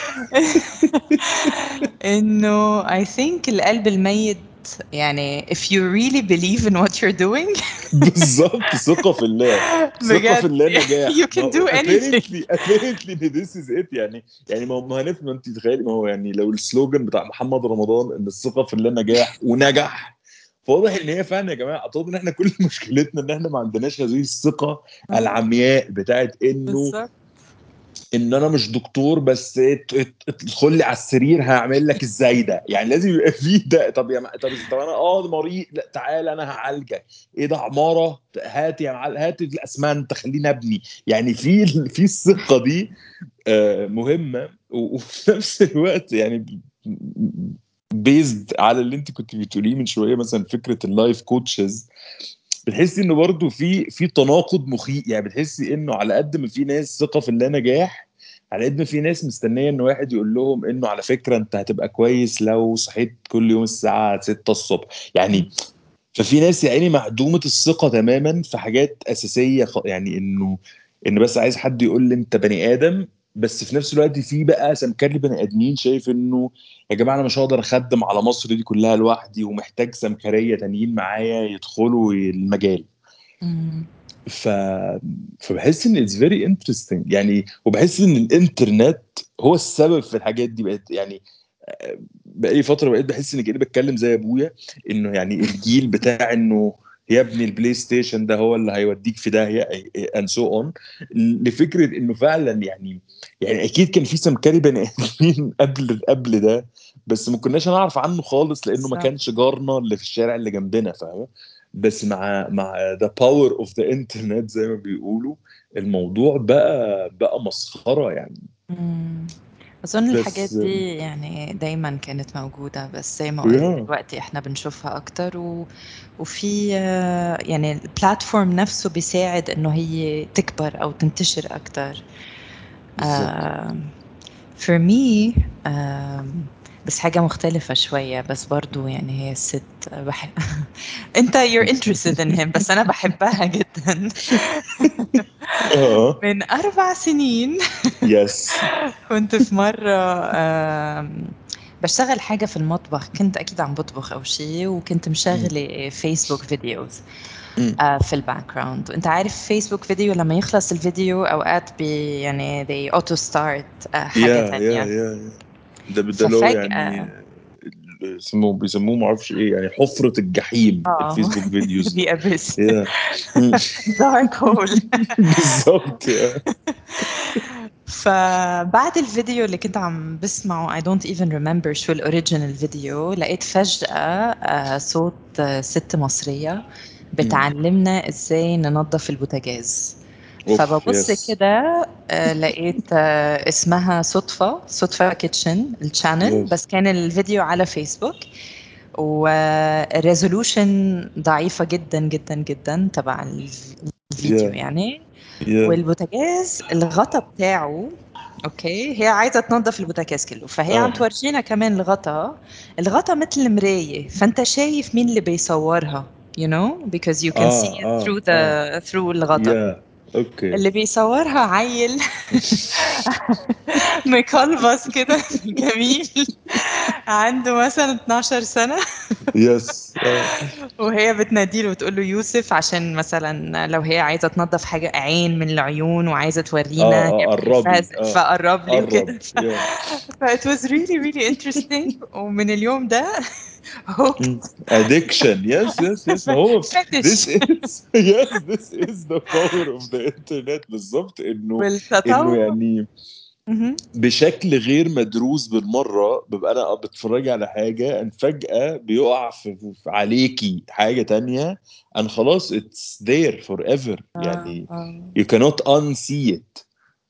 إنه I think القلب الميت يعني if you really believe in what you're doing. بالظبط، ثقة في الله. ثقة في بجد الله نجاح. you ما can هو do anything. apparently apparently ان this is it يعني. يعني ما هو ما هنف- ما انت تخيلي، ما هو يعني لو السلوجان بتاع محمد رمضان ان الثقة في الله نجاح ونجح، فواضح ان هي فعلا يا جماعه. اعتقد ان احنا كل مشكلتنا ان احنا ما عندناش هذه الثقة آه، العمياء بتاعت انه بالظبط. ان انا مش دكتور بس ات- ات- ادخل لي على السرير هعمل لك ازاي ده يعني. لازم يبقى فيه ده. طب يا م... طب طب انا اه مريض، لا تعالى انا هعالجك. ايه ده عماره، هات يا معلم هات الاسمنت خليني ابني يعني. في في الثقه دي آه، مهمه. و- وفي نفس الوقت يعني بيزد على اللي انت كنت بتقوليه من شويه، مثلا فكره اللايف كوتشز. بتحسي انه برضو في في تناقض مخيف يعني. بتحسي انه على قد ما في ناس ثقه في اللا نجاح، على قد ما في ناس مستنيه ان واحد يقول لهم انه على فكره انت هتبقى كويس لو صحيت كل يوم الساعه ستة الصبح يعني. ففي ناس يعني معدومه الثقه تماما في حاجات اساسيه، خ- يعني انه انه بس عايز حد يقول لي انت بني ادم. بس في نفس الوقت في بقى سمكري بني ادمين شايف انه يا جماعه انا مش هقدر اخدم على مصر دي كلها لوحدي، ومحتاج سمكريه تانيين معايا يدخلوا المجال. مم. ف فبحس ان اتس فيري انترستنج يعني. وبحس ان الانترنت هو السبب في الحاجات دي. بقت يعني بقالي فتره بقيت بحس اني كاني بتكلم زي ابويا، انه يعني الجيل بتاع انه يا ابني البلاي ستيشن ده هو اللي هيوديك في داهيه اند سو اون. لفكره انه فعلا يعني يعني اكيد كان في سمكري بني ادمين قبل قبل ده، بس ما كناش نعرف عنه خالص لانه ما بالظبط. كانش جارنا اللي في الشارع اللي جنبنا، فاهم. بس مع مع ذا باور اوف ذا انترنت زي ما بيقولوا، الموضوع بقى بقى مسخره يعني. مم. أظن الحاجات بس دي يعني دايما كانت موجودة، بس زي ما قلت يا دلوقتي احنا بنشوفها أكتر و... وفي آه، يعني البلاتفورم نفسه بيساعد إنه هي تكبر أو تنتشر أكتر. بالظبط. آه، for me آم، بس حاجة مختلفة شوية، بس برضو يعني هي الست بحب. انت you're interested in him بس أنا بحبها جدا. اه من أربع سنين يس. كنت في مرة آم، بشتغل حاجة في المطبخ، كنت أكيد عم بطبخ أو شيء، وكنت مشغلة فيسبوك فيديوز آه، في الباك جراوند. وانت عارف فيسبوك فيديو لما يخلص الفيديو أوقات بي يعني they auto start آه، حاجة يا يا تانية. يا ده ده اللي هو يعني ففجأة اسمه بيسموه ما اعرفش ايه يعني، حفرة الجحيم اه الفيسبوك فيديوز the ده. abyss. يا dark hole. بالظبط يا. فبعد الفيديو اللي كنت عم بسمعه I don't even remember شو الأوريجينال فيديو، لقيت فجأة آه، صوت آه، ست مصرية بتعلمنا ازاي ننظف البوتاجاز. اوف فببص يس. كده آه، لقيت آه، اسمها صدفة صدفة كيتشن الشانل، Yes. بس كان الفيديو على فيسبوك، والريزولوشن ضعيفة جدا جدا جدا تبع الف- الفيديو Yeah. يعني. Yeah. والبوتاجاز الغطا بتاعه، اوكي، هي عايزة تنظف البوتاجاز كله، فهي عم اه تورجينا كمان الغطا. الغطا مثل مراية، فانت شايف مين اللي بيصورها، you know, because you can see اه it اه through اه the through الغطا. yeah. اوكي. اللي بيصورها عيل مكلبس كده جميل، عنده مثلا اتناشر سنة، يس اه وهي بتناديله وتقول له يوسف، عشان مثلا لو هي عايزة تنظف حاجة عين من العيون وعايزة تورينا اه هي اه بتحبها قربي ز- اه فقرب لي قرب وكده. ف... yeah. ف it was really really interesting. ومن اليوم ده Mm. hooked Addiction. Yes, yes, yes. ما هو this fetish. is yes, this is the power of the internet. بالظبط انه انه والتطور. يعني مهم. بشكل غير مدروس بالمرة ببقى انا بتفرج على حاجة ان فجأة بيقع في في- عليكي حاجة تانية ان خلاص it's there forever آه، يعني آه. you cannot unsee it.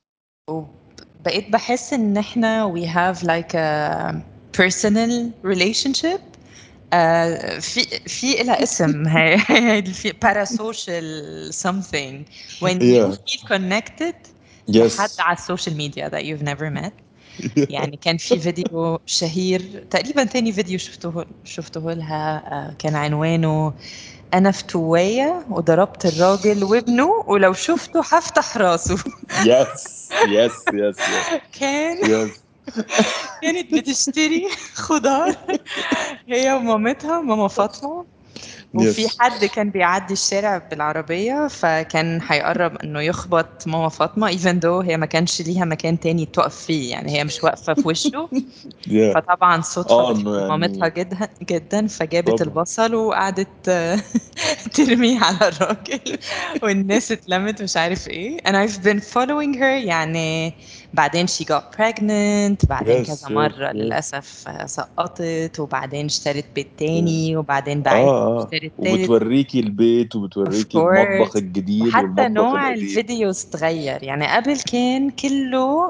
بقيت بحس ان احنا we have like a personal relationship. آه، في في لها اسم هي هي في parasocial something when you Yeah. feel connected لحد Yes. على السوشيال ميديا that you've never met. يعني كان في فيديو شهير تقريبا تاني فيديو شفته شفته لها، آه، كان عنوانه أنا فتوية وضربت الراجل وابنه ولو شفته هفتح راسه. Yes. Yes. Yes. Yes. كان Yes. كانت بتشتري خضار هي ومامتها، ماما فاطمة، وفي Yes. حد كان بيعدي الشارع بالعربية فكان هيقرب انه يخبط ماما فاطمة even though هي ما كانش ليها مكان تاني تقف فيه، يعني هي مش واقفة في وشه. Yeah. فطبعا صدفة اه بتحب انه مامتها يعني جدا جدا، فجابت طبعا. البصل وقعدت ترميه على الراجل والناس اتلمت مش عارف ايه. and I've been following her يعني. بعدين she got pregnant، بعدين كذا Yes. Yes. مرة Yes. للأسف آه، سقطت، وبعدين اشترت بيت Yeah. تاني، وبعدين باعت اه اه اشترت تالت. وبتوريكي البيت of وبتوريكي المطبخ course. الجديد وحتى والمطبخ نوع القديم. الفيديوز تغير، يعني قبل كان كله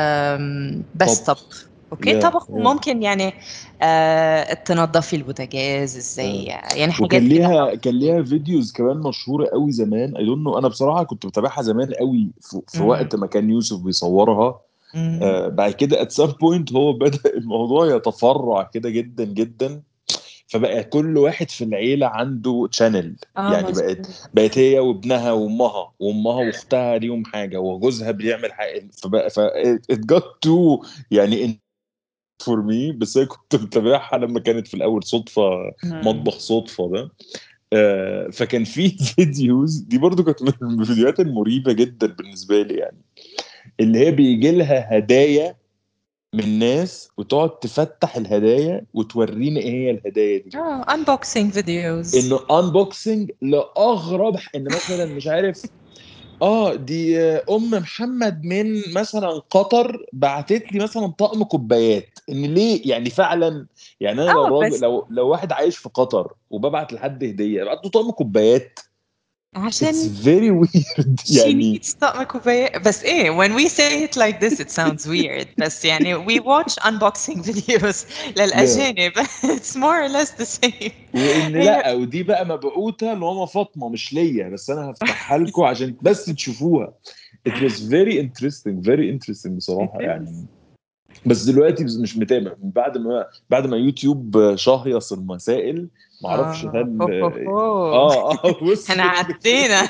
آم، بس طبخ. طبخ، اوكي، يا طبخ يا وممكن يعني آه، تنظفي البوتاجاز ازاي، آه. يعني وكان حاجات كده ليها كان household. ليها فيديوز كمان مشهوره قوي زمان اي دونت نو انا بصراحه كنت بتابعها زمان قوي في, في مم. وقت ما كان يوسف بيصورها. مم. آه بعد كده at some point هو بدأ الموضوع يتفرع كده جدا جدا، فبقى كل واحد في العيلة عنده تشانل. اه يعني بقت مظبوط. بقت هي وابنها وامها وامها واختها ليهم حاجة وجوزها بيعمل حاجة، فبقى ف it got to يعني فور مي. بس انا كنت متابعها لما كانت في الاول صدفة، مم. مطبخ صدفة ده. آه، فكان في فيديوز دي برضو كانت من الفيديوهات المريبة جدا بالنسبة لي يعني، اللي هي بيجي لها هدايا من ناس وتقعد تفتح الهدايا وتورينا ايه هي الهدايا دي. اه unboxing videos. انه انبوكسنج لاغرب، ان مثلا مش عارف اه دي آه، ام محمد من مثلا قطر بعتت لي مثلا طقم كوبايات، ان ليه يعني فعلا. يعني انا لو اه راجل، بس لو لو واحد عايش في قطر وببعت لحد هديه ابعت له طقم كوبايات. It's عشان very weird she يعني. needs طقم كوباية. بس ايه when we say it like this it sounds weird، بس يعني we watch unboxing videos yeah. للأجانب it's more or less the same. وان هي لا ودي بقى مبعوثه لماما فاطمه مش ليا، بس انا هفتحها لكم عشان بس تشوفوها. It was very interesting very interesting it بصراحه is. يعني. بس دلوقتي مش متابع من بعد ما بعد ما يوتيوب شهيص المسائل. ما اعرفش اه هو هل هو هو اه اه احنا وصلت لفين. عدينا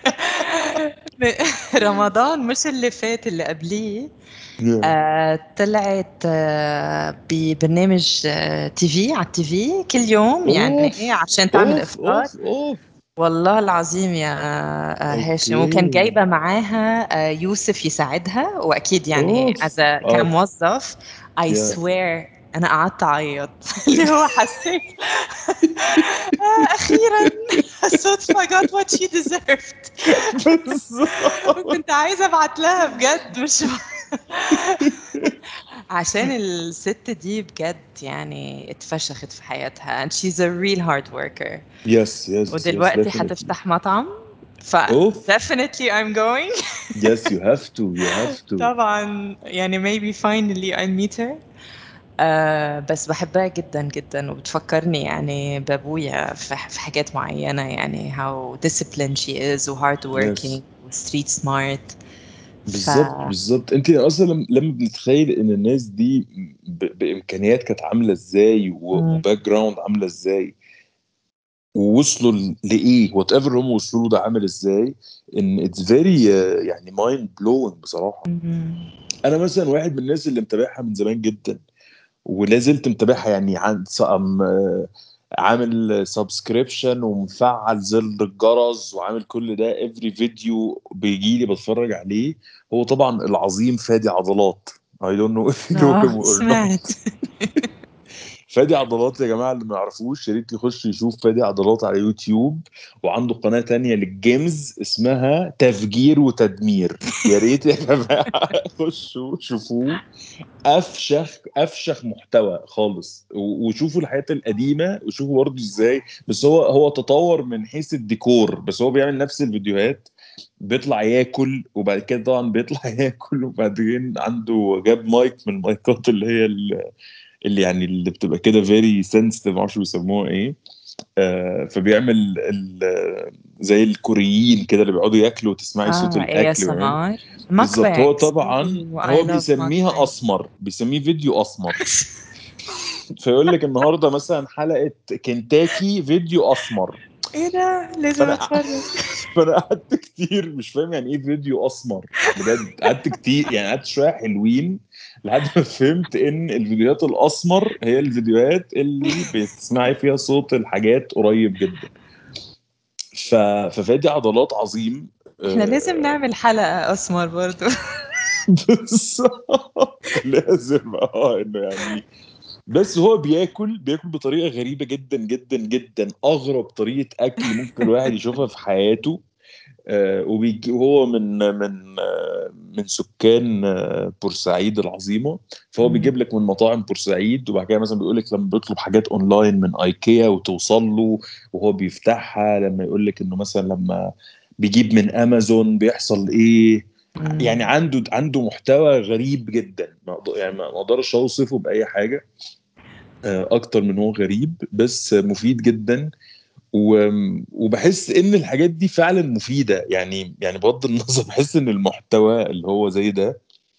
رمضان مش اللي فات اللي قبليه. Yeah. آه طلعت آه ببرنامج آه تي في على التي في كل يوم، يعني اوف ايه عشان تعمل اوف افطار. اوف اوف. والله العظيم يا آه هاشم، وكان اوكي. جايبة معاها آه يوسف يساعدها، وأكيد يعني اوف as a اه كموظف. I يا swear أنا قعدت أعيط اللي هو حسيت آه أخيرا الصدفة got what she deserved. بالظبط. وكنت عايزة أبعت لها بجد، مش عشان الست دي بجد يعني اتفشخت في حياتها and she's a real hard worker. يس يس يس ودلوقتي definitely. هتفتح مطعم ف اوف definitely I'm going. yes you have to you have to طبعا يعني maybe finally I meet her. آه بس بحبها جدا جدا وبتفكرني يعني بابويا في في حاجات معينة يعني how disciplined she is و hard working yes و street smart. ف بالظبط بالظبط. انت اصلا لما لما بنتخيل ان الناس دي ب... بامكانيات كانت عامله ازاي و... مم. وباك جراوند عامله ازاي ووصلوا ل- لايه وات ايفر هم وصلوا له ده عامل ازاي ان اتس فيري يعني مايند بلوينج بصراحه. مم. انا مثلا واحد من الناس اللي متابعها من زمان جدا ولا زلت متابعها يعني عن ص- أم- آه، عامل سبسكريبشن ومفعل زر الجرس وعامل كل ده افري فيديو بيجي لي بتفرج عليه. هو طبعا العظيم فادي عضلات. I don't know if you know اه him or سمعت. not. فادي عضلات يا جماعة اللي ما يعرفوش يا ريت يخش يشوف فادي عضلات على يوتيوب. وعنده قناة تانية للجيمز اسمها تفجير وتدمير. يا ريت يا جماعة خشوا شوفوه. افشخ افشخ محتوى خالص و- وشوفوا الحياة القديمة وشوفوا برضه ازاي. بس هو هو تطور من حيث الديكور بس هو بيعمل نفس الفيديوهات. بيطلع ياكل وبعد كده طبعا بيطلع ياكل وبعدين عنده جاب مايك من المايكات اللي هي ال- اللي يعني اللي بتبقى كده فيري سنسيتيف معرفش بيسموها ايه. آه فبيعمل ال- زي الكوريين كده اللي بيقعدوا ياكلوا وتسمعي صوت اه الاكل ويعمل. إيه إس إم آر بالظبط هو mukbangs. طبعا Ooh, I هو love بيسميها mukbang. اسمر بيسميه فيديو اسمر. فيقول لك النهارده مثلا حلقه كنتاكي فيديو اسمر. ايه ده لازم فانا اتفرج. فانا قعدت كتير مش فاهم يعني ايه فيديو اسمر. بجد قعدت كتير يعني قعدت شويه حلوين لحد ما فهمت ان الفيديوهات الاسمر هي الفيديوهات اللي بتسمعي فيها صوت الحاجات قريب جدا. ف... ففادي عضلات عظيم. احنا لازم آه، نعمل حلقة اسمر برضو. بالظبط لازم اه انه يعني. بس هو بياكل بياكل بطريقه غريبه جدا جدا جدا اغرب طريقه اكل ممكن الواحد يشوفها في حياته. آه، وبيجي وهو من من آه، من سكان آه، بورسعيد العظيمه. فهو مم. بيجيب لك من مطاعم بورسعيد وبعد كده مثلا بيقول لك لما بيطلب حاجات اونلاين من ايكيا وتوصل له وهو بيفتحها لما يقول لك انه مثلا لما بيجيب من امازون بيحصل ايه. يعني مم. عنده عنده محتوى غريب جدا ما أقدر- يعني ما اقدرش اوصفه باي حاجه آه، اكتر من هو غريب بس مفيد جدا. و- وبحس ان الحاجات دي فعلا مفيده يعني يعني بغض النظر بحس ان المحتوى اللي هو زي ده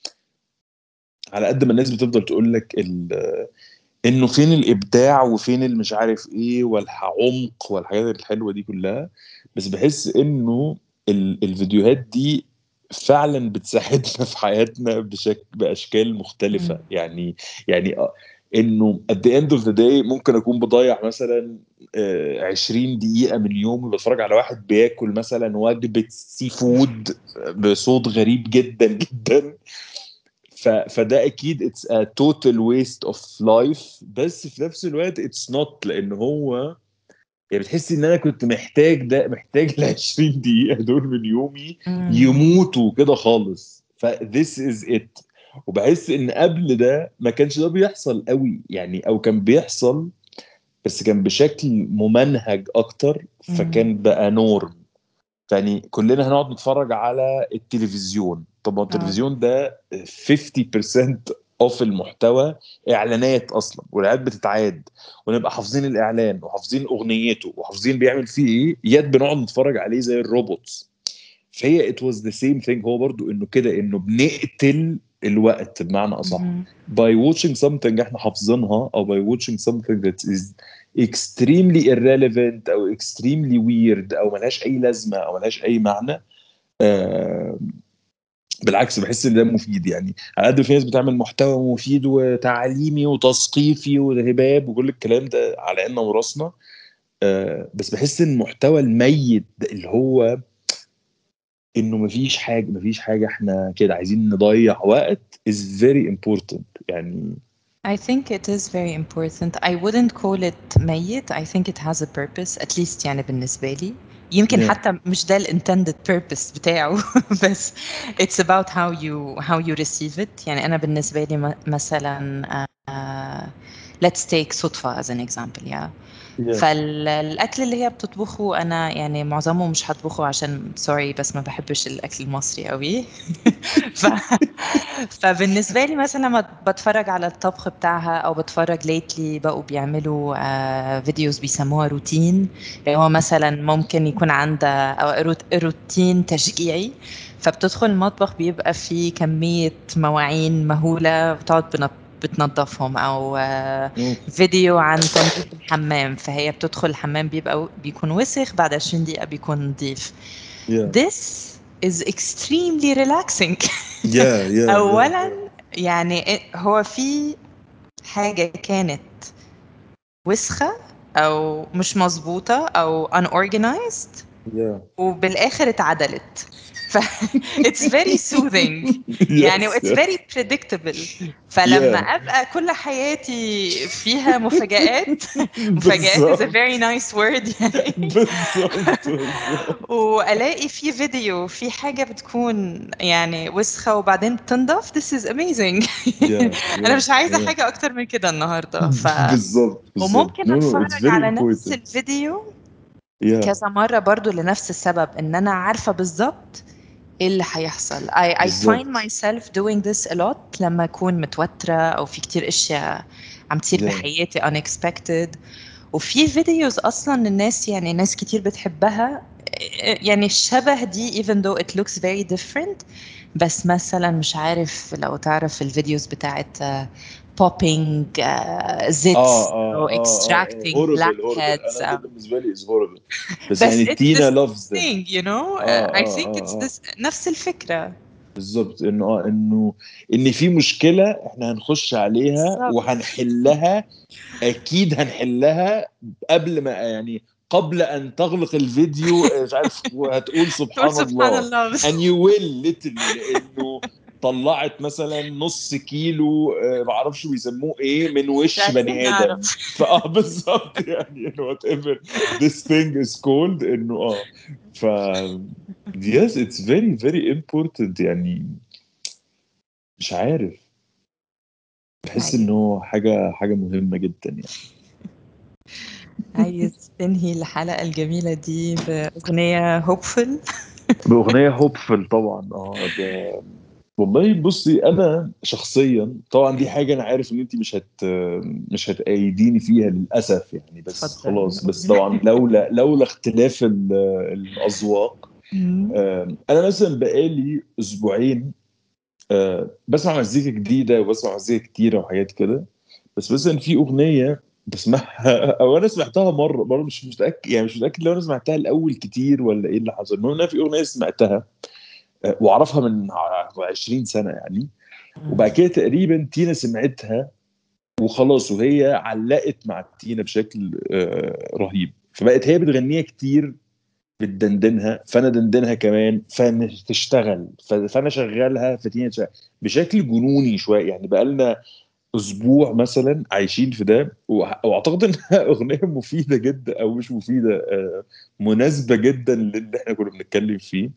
على قد ما الناس بتفضل تقول لك ال- انه فين الابداع وفين المش عارف ايه والعمق والحاجات الحلوه دي كلها. بس بحس انه ال- الفيديوهات دي فعلا بتساعدنا في حياتنا بشكل باشكال مم. مختلفه يعني. يعني آه، انه at the end of the day ممكن اكون بضيع مثلا آه، عشرين دقيقه من يومي بتفرج على واحد بياكل مثلا وجبه سي فود بصوت غريب جدا جدا. ف... فده اكيد اتس ا توتال ويست اوف لايف بس في نفس الوقت اتس نوت لان هو يعني بتحسي ان انا كنت محتاج ده محتاج ال عشرين دقيقة دول من يومي مم. يموتوا كده خالص. ف this is it. وبحس ان قبل ده ما كانش ده بيحصل قوي يعني او كان بيحصل بس كان بشكل ممنهج اكتر مم. فكان بقى نورم. يعني كلنا هنقعد نتفرج على التلفزيون. طب ما اه التلفزيون ده خمسين بالمية اوف المحتوى اعلانات اصلا والاعلانات بتتعاد ونبقى حافظين الاعلان وحافظين اغنيته وحافظين بيعمل فيه ايه يد بنقعد نتفرج عليه زي الروبوتس. فهي it was the same thing هو برضو انه كده انه بنقتل الوقت بمعنى اصح مم. by watching something احنا حافظينها او by watching something that is extremely irrelevant او extremely weird او ملهاش اي لازمه او ملهاش اي معنى. آه بالعكس بحس ان ده مفيد يعني على قد ما في ناس بتعمل محتوى مفيد وتعليمي وتثقيفي وهباب وكل الكلام ده على عيننا وراسنا. آه بس بحس ان المحتوى الميت ده اللي هو انه مفيش حاجه مفيش حاجه احنا كده عايزين نضيع وقت is very important يعني. I think it is very important. I wouldn't call it ميت. I think it has a purpose at least يعني بالنسبة لي. يمكن yeah. حتى مش ده ال intended purpose بتاعه بس it's about how you how you receive it. يعني أنا بالنسبة لي م- مثلا uh, let's take صدفة as an example. Yeah. yeah. فالاكل اللي هي بتطبخه انا يعني معظمه مش هطبخه عشان سوري بس ما بحبش الاكل المصري قوي. ف... فبالنسبه لي مثلا لما بتفرج على الطبخ بتاعها او بتفرج ليتلي بقوا بيعملوا آه فيديوز بيسموها روتين، اللي هو مثلا ممكن يكون عندها أو روت- روتين تشجيعي، فبتدخل المطبخ بيبقى فيه كمية مواعين مهولة بتقعد بنط- بتنظفهم، او آه، أوف. فيديو عن تنظيف الحمام، فهي بتدخل الحمام بيبقى بيكون وسخ بعد عشرين دقيقة بيكون نظيف. yeah This is extremely relaxing. yeah yeah yeah اولا yeah يعني هو في حاجة كانت وسخة او مش مظبوطة او unorganized yeah وبالاخر اتعدلت. ف it's very soothing يعني yes it's yes very predictable. فلما yeah ابقى كل حياتي فيها مفاجآت مفاجآت is a بالظبط very nice word يعني. بالظبط بالظبط والاقي في فيديو في حاجة بتكون يعني وسخة وبعدين بتنضف this is amazing. yeah انا yeah مش عايزة yeah حاجة اكتر من كده النهاردة. ف بالظبط بالظبط وممكن no no اتفرج it's very على نفس important الفيديو yeah كذا مرة برضو لنفس السبب ان انا عارفة بالظبط ايه اللي هيحصل. I, I find بالظبط myself doing this a lot لما اكون متوترة او في كتير اشياء عم تصير yeah بحياتي unexpected. وفي فيديوز اصلا الناس يعني ناس كتير بتحبها يعني الشبه دي even though it looks very different. بس مثلا مش عارف لو تعرف الفيديوز بتاعت uh, popping uh, اه zits اه or اه اه extracting هوربل هوربل blackheads. انا ده بالنسبه لي از هوربل بس بس يعني it's the تينا same loves them thing you know. اه uh, I اه think اه it's اه this نفس الفكرة. بالظبط انه اه انه ان في مشكله احنا هنخش عليها بالظبط. وهنحلها اكيد هنحلها قبل ما يعني قبل ان تغلق الفيديو مش عارف وهتقول تقول سبحان سبحان الله الله بس. and you will literally لانه طلعت مثلا نص كيلو آه، معرفش بيسموه ايه من مش وش عايزين بني نعرف. ادم فاه بالظبط يعني انه وات ايفر this thing is called انه اه ف yes it's very very important يعني مش عارف بحس عايز انه حاجه حاجه مهمه جدا يعني عايز تنهي الحلقة الجميلة دي بأغنية hopeful. بأغنية هوبفل طبعا اه ده والله بصي انا شخصيا طبعا دي حاجه انا عارف ان انت مش هت مش هتأيديني فيها للاسف يعني بس اتفضل خلاص بس قول. طبعا لولا لولا اختلاف ال- الاذواق. مم. آم، انا مثلا بقالي اسبوعين آه، بسمع مزيكا جديده وبسمع مزيكا كتيره وحاجات كده. بس مثلا في اغنيه بسمعها او انا سمعتها مره مره مش متاكد يعني مش متاكد لو انا سمعتها الاول كتير ولا ايه اللي حصل. المهم إن انا في اغنيه سمعتها آه، واعرفها من عشرين سنه يعني. مم. وبعد كده تقريبا تينا سمعتها وخلاص وهي علقت مع تينا بشكل آه، رهيب فبقت هي بتغنيها كتير بتدندنها فانا دندنها كمان فتشتغل فانا شغالها فتينا تشغل بشكل جنوني شويه يعني بقالنا اسبوع مثلا عايشين في ده وأ- واعتقد انها اغنيه مفيده جدا او مش مفيده آه، مناسبه جدا للي احنا كنا بنتكلم فيه.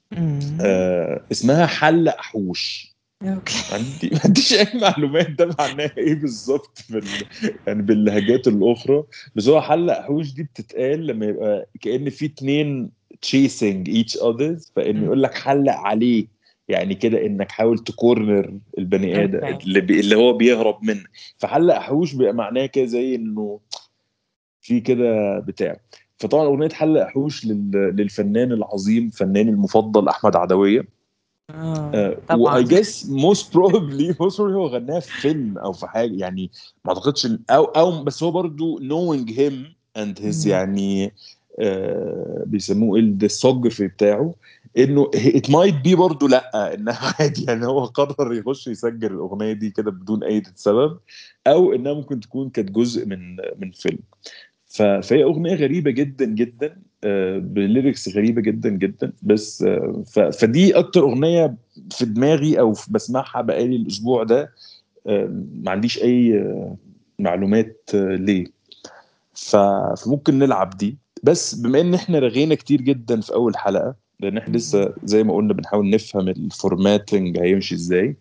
مم. آه، اسمها حل احوش. اوكي. ما عندي ما عنديش اي معلومات ده معناها ايه بالظبط بال... يعني باللهجات الاخرى. بس هو حل احوش دي بتتقال لما يبقى كأن في اتنين chasing each others فانه مم. يقول لك حلق عليه يعني كده انك حاول تكورنر البني ادم اوكي. اللي, بي... اللي هو بيهرب منك. فحلق احوش بيبقى معناه كده زي انه في كده بتاع. فطبعا اغنيه حلق احوش لل... للفنان العظيم فناني المفضل احمد عدويه. اه واي طبعا. جس موست بروبلي موست بروبلي هو غناها في فيلم او في حاجه يعني ما اعتقدش إن- او او بس هو برضو knowing him and his مم. يعني آه بيسموه ايه الديسوجرافي بتاعه انه it might be برضو لا انها عادي يعني هو قرر يخش يسجل الاغنيه دي كده بدون اي سبب او انها ممكن تكون كانت جزء من من فيلم. ف- فهي اغنيه غريبه جدا جدا آه، بليركس غريبه جدا جدا بس آه، ف- فدي اكتر اغنيه في دماغي او في- بسمعها بقالي الاسبوع ده. آه، ما عنديش اي آه، معلومات آه، ليه. ف- فممكن نلعب دي بس بما ان احنا رغينا كتير جدا في اول حلقه لان احنا مم. لسه زي ما قلنا بنحاول نفهم الفورماتنج هيمشي ازاي.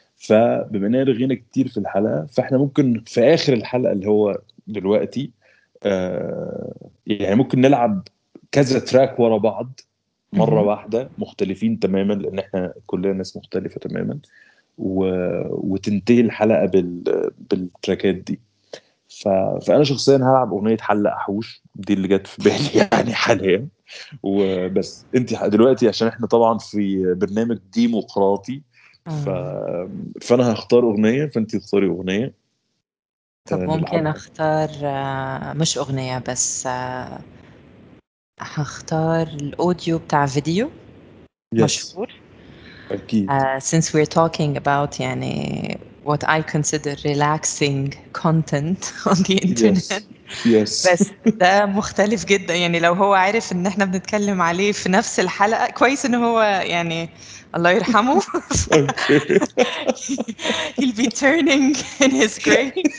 فبما اننا رغينا كتير في الحلقه فاحنا ممكن في اخر الحلقه اللي هو دلوقتي آه يعني ممكن نلعب كذا تراك ورا بعض مره مهم. واحده مختلفين تماما، لان احنا كلنا ناس مختلفه تماما، و... وتنتهي الحلقه بال... بالتراكات دي. ف... فانا شخصيا هلعب اغنيه حلق حوش، دي اللي جت في بالي يعني حاليا. وبس انت دلوقتي، عشان احنا طبعا في برنامج ديمقراطي، ف... آه. فانا هختار اغنيه، فانت تختاري اغنيه طب آه ممكن نلعبها. اختار آه، مش اغنية بس، آه، هختار الاوديو بتاع فيديو يس، مشهور. اكيد. Uh, since we're talking about يعني what I consider relaxing content on the internet. يس يس. بس ده مختلف جدا، يعني لو هو عارف ان احنا بنتكلم عليه في نفس الحلقة، كويس ان هو يعني الله يرحمه. اوكي. He'll be turning in his grave.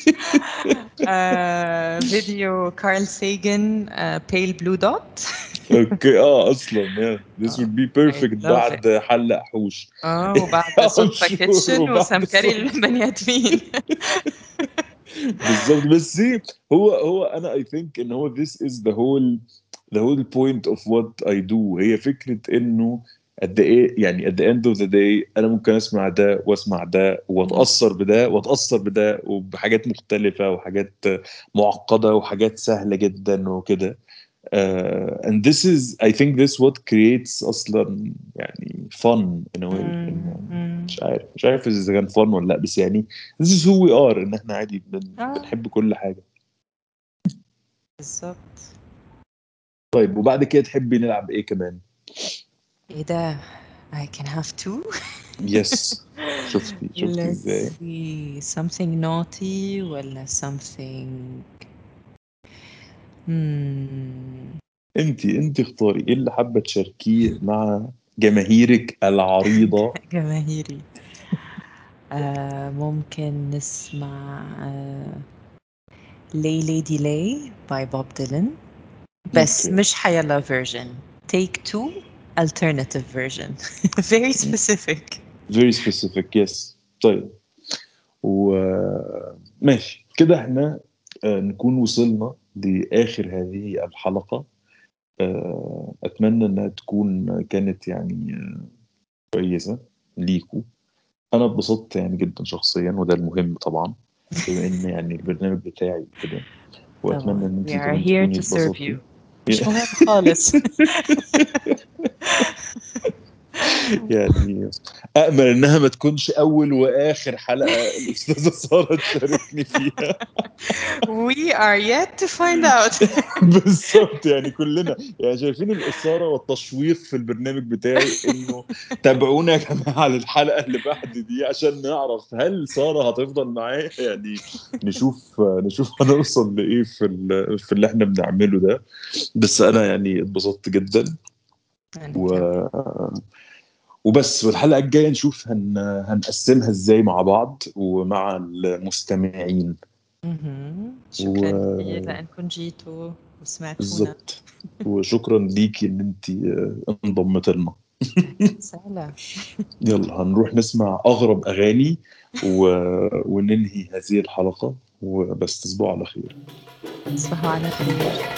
uh, فيديو كارل ساجن uh, Pale Blue Dot. اوكي، اه اصلا yeah. This would be I perfect love it. بعد حلق حوش. اه وبعد I'm صدفة sure. كيتشن وبعد وسمكري الصوت. البني ادمين. بالظبط. بس see، هو هو انا I think ان هو this is the whole the whole point of what I do. هي فكرة انه قد ايه يعني at the end of the day انا ممكن اسمع ده واسمع ده واتأثر بده واتأثر بده، وبحاجات مختلفة وحاجات معقدة وحاجات سهلة جدا وكده. uh, and this is I think this what creates اصلا يعني fun in a way. مم. انه مم. مش عارف مش عارف اذا كان fun ولا لا، بس يعني this is who we are، ان احنا عادي بن, اه بنحب كل حاجة. بالظبط. طيب وبعد كده تحبي نلعب ايه كمان؟ ايه ده؟ I can have two. يس. شفتي شفتي Let's ازاي؟ see, something naughty ولا something. Hmm. انت انت اختاري ايه اللي حابة تشاركيه مع جماهيرك العريضة. جماهيري. آه ممكن نسمع آه Lay Lady Lay by Bob Dylan، بس اوكي. مش حيلا version. Take two alternative version. Very specific. very specific. yes. طيب وماشي كده احنا آه، نكون وصلنا لآخر هذه الحلقة. آه، أتمنى إنها تكون كانت يعني آه، كويسة ليكوا. أنا اتبسطت يعني جدا شخصيا، وده المهم طبعا بما إن يعني البرنامج بتاعي كده، وأتمنى طبعا إن we أنتي are كمان here تكوني to serve اتبسطتي. you. مش مهم خالص. يعني أأمل إنها ما تكونش أول وآخر حلقة الأستاذة سارة تشاركني فيها. We are yet to find out. بالظبط، يعني كلنا يعني شايفين الإثارة والتشويق في البرنامج بتاعي، إنه تابعونا يا جماعة للحلقة اللي بعد دي عشان نعرف هل سارة هتفضل معايا يعني. نشوف نشوف هنوصل لإيه في ال- في اللي إحنا بنعمله ده. بس أنا يعني اتبسطت جدا. أنا و... كمان. وبس. والحلقة الجاية نشوف هن... هنقسمها إزاي مع بعض ومع المستمعين. مهم. شكرا كثير وبالظبط. لأنكم جيتوا وسمعتونا. وشكرا ليكي ان انت انضمت لنا. سهلة. يلا هنروح نسمع اغرب اغاني و... وننهي هذه الحلقة. وبس تصبحوا على خير. تصبحوا على خير.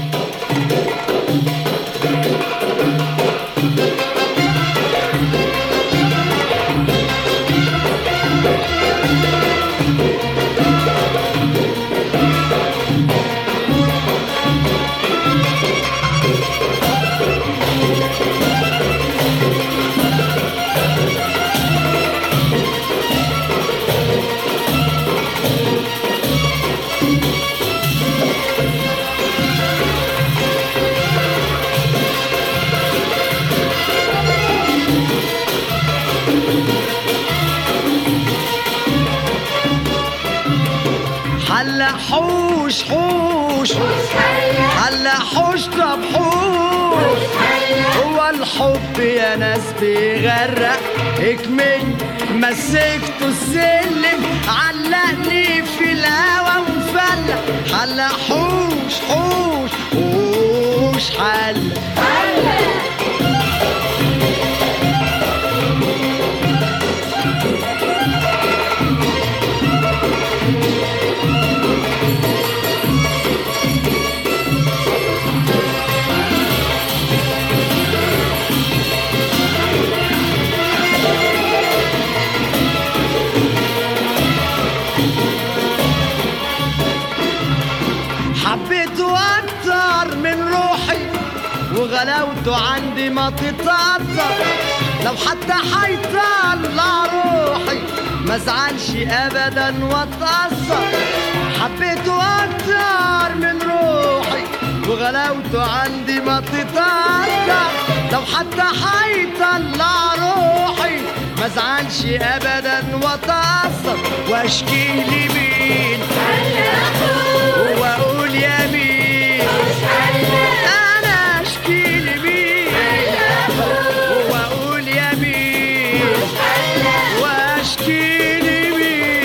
حلا حوش حوش حلا حوش طب حوش. هو الحب يا ناس بيغرق اكمل مسكته السلم علقني في الهوا ومفلق. حلا حوش حوش حوش حلا غلاوته عندي ما تتقدر، لو حتى حيطلع روحي ما زعلش ابدا واتأثر. حبيته اكتر من روحي وغلاوته عندي ما تتقدر، لو حتى حيطلع روحي ما زعلش ابدا واتأثر. واشكي لمين واقول يا مين، انا اشكي لمين واقول يا مين، واشكي لمين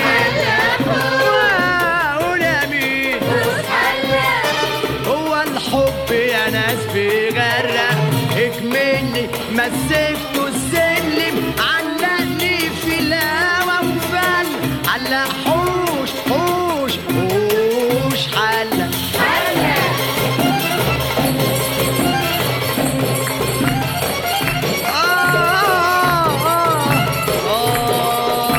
واقول يا مين. هو الحب يا ناس بيغرق اكملني، مسكته السلم علقني في الهوا وفل، علق حوش حوش حوش حلق حلق. آه آه آه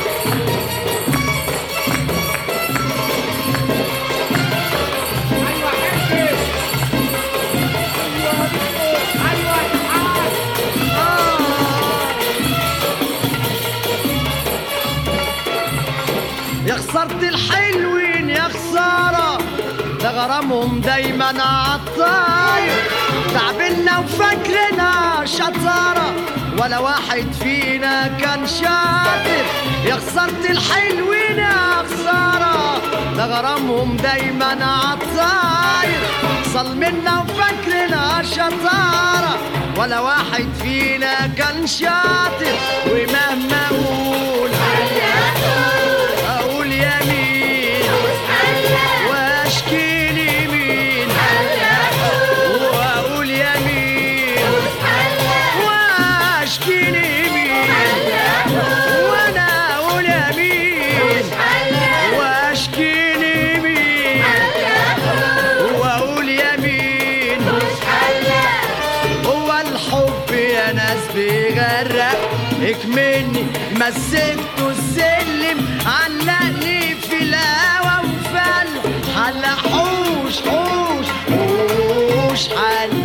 يا خسرت الحلوين يا خسارة، ده غرامهم دايما عالطاير. تعبنا وفاكرنا شطارة ولا واحد فينا كان شاطر. يا خسرت الحلوين يا خسارة، ده غرامهم دايما عالطاير. ظلمنا وفاكرنا شطارة ولا واحد فينا كان شاطر. ومهما اقول اقول يا مين واشكي لمين، واقول يا مين واشكي لمين، وانا اقول يا مين واشكي لمين، واقول يا مين. هو الحب يا ناس بيغرق اكملني، مسكته السلم علقني في الهوا وفل، حلق حوش حوش حوش حل.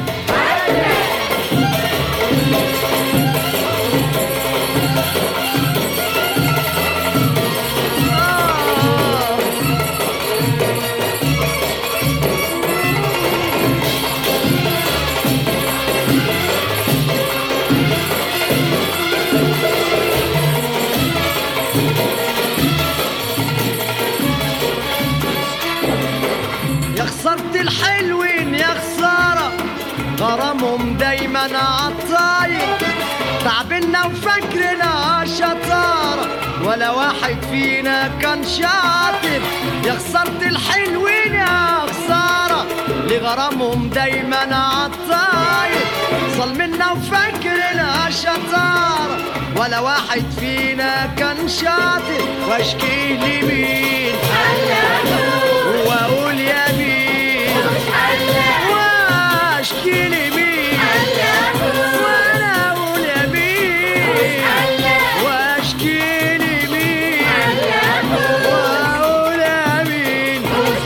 خسرت الحلوين يا خسارة، غرامهم دايما عالطاير. تعبنا وفاكرنا شطارة ولا واحد فينا كان شاطر. يا خسرت الحلوين يا خسارة، لغرامهم دايما عالطاير. ظلمنا وفاكرنا شطارة ولا واحد فينا كان شاطر. واشكي لمين واقول يا مين، واشكي لمين وانا اقول يا مين، واشكي لمين واقول يا مين.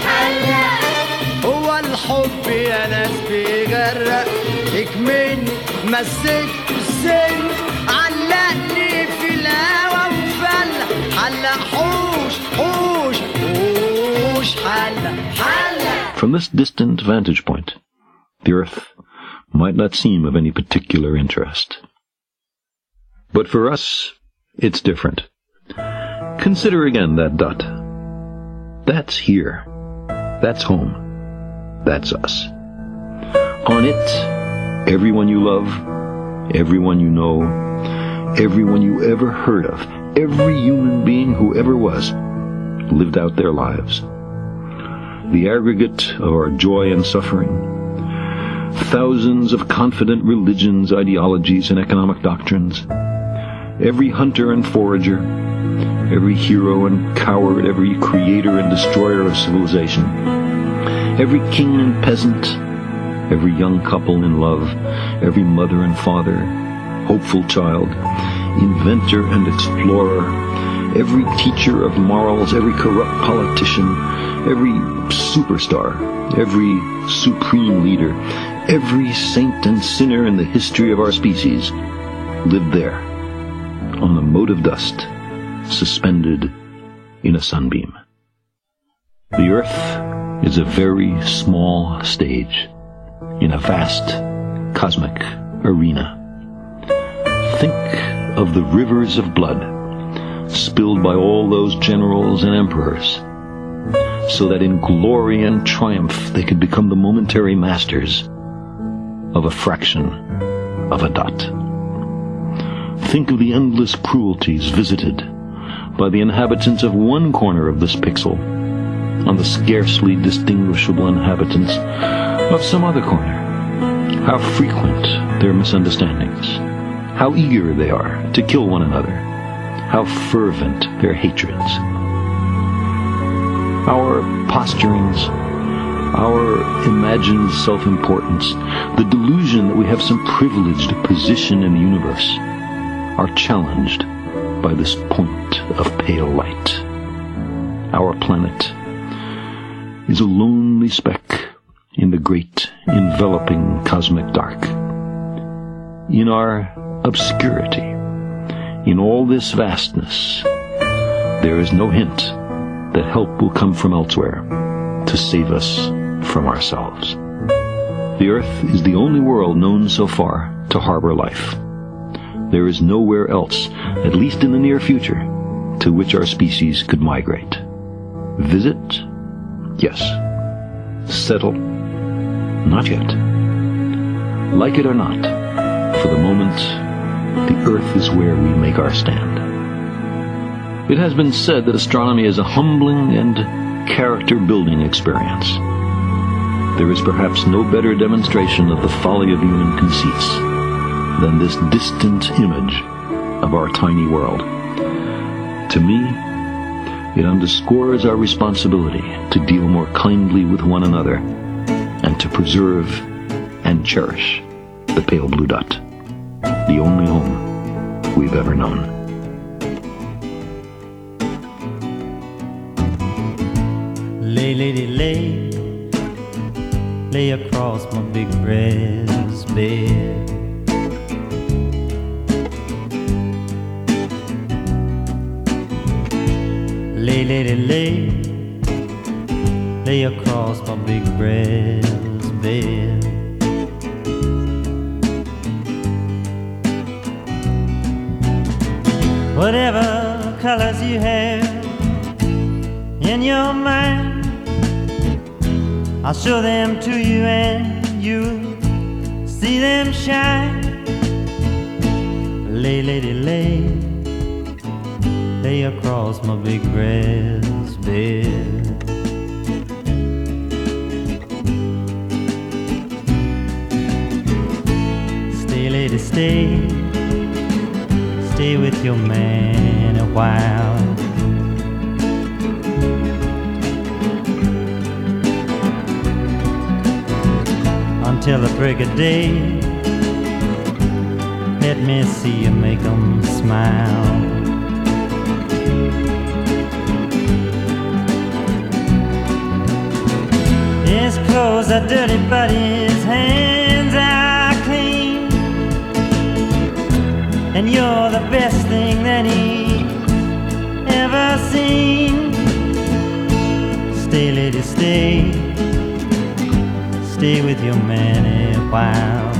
هو الحب يا ناس بيغرق اكملني، مسكته السن علقني في الهوا وفل، حلق حوش حوش حوش حلق حلق. From this distant vantage point, the earth might not seem of any particular interest. But for us, it's different. Consider again that dot. That's here. That's home. That's us. On it, everyone you love, everyone you know, everyone you ever heard of, every human being who ever was, lived out their lives. The aggregate of our joy and suffering, thousands of confident religions, ideologies, and economic doctrines, every hunter and forager, every hero and coward, every creator and destroyer of civilization, every king and peasant, every young couple in love, every mother and father, hopeful child, inventor and explorer, every teacher of morals, every corrupt politician, every superstar, every supreme leader, every saint and sinner in the history of our species lived there, on a mote of dust, suspended in a sunbeam. The Earth is a very small stage in a vast cosmic arena. Think of the rivers of blood spilled by all those generals and emperors, so that in glory and triumph they could become the momentary masters of a fraction of a dot. Think of the endless cruelties visited by the inhabitants of one corner of this pixel on the scarcely distinguishable inhabitants of some other corner. How frequent their misunderstandings, how eager they are to kill one another, how fervent their hatreds. Our posturings, our imagined self-importance, the delusion that we have some privileged position in the universe, are challenged by this point of pale light. Our planet is a lonely speck in the great enveloping cosmic dark. In our obscurity, in all this vastness, there is no hint that help will come from elsewhere to save us from ourselves. The Earth is the only world known so far to harbor life. There is nowhere else, at least in the near future, to which our species could migrate. Visit? Yes. Settle? Not yet. Like it or not, for the moment, the Earth is where we make our stand. It has been said that astronomy is a humbling and character-building experience. There is perhaps no better demonstration of the folly of human conceits than this distant image of our tiny world. To me, it underscores our responsibility to deal more kindly with one another and to preserve and cherish the pale blue dot, the only home we've ever known. Lay, lady, lay, lay across my big breast bed. Lay, lady, lay, lay across my big breast bed. Whatever colors you have in your mind, I'll show them to you and you'll see them shine. Lay, lady, lay, lay across my big breast bed. Stay, lady, stay, stay with your man a while. Until the break of day, let me see you make 'em smile. His clothes are dirty, but his hands are clean, and you're the best thing that he's ever seen. Stay, lady, stay, stay with your man a while.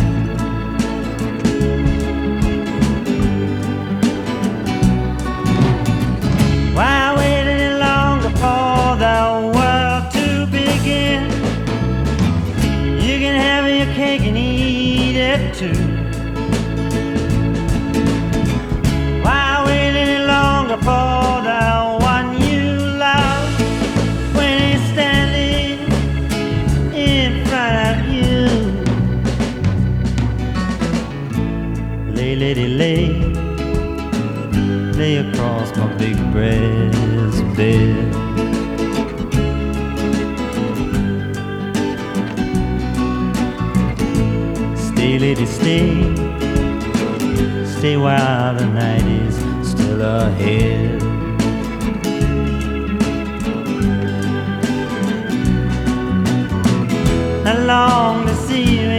Why wait any longer for the world to begin? You can have your cake and eat it too. Why wait any longer for the one you love when he's standing in front of you? Lay, lady, lay, lay across my big breast bed. Stay, lady, stay, stay while the night is still ahead. I long to see you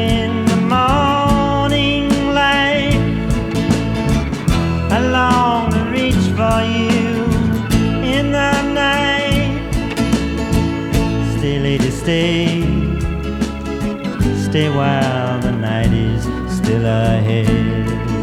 stay, stay while the night is still ahead.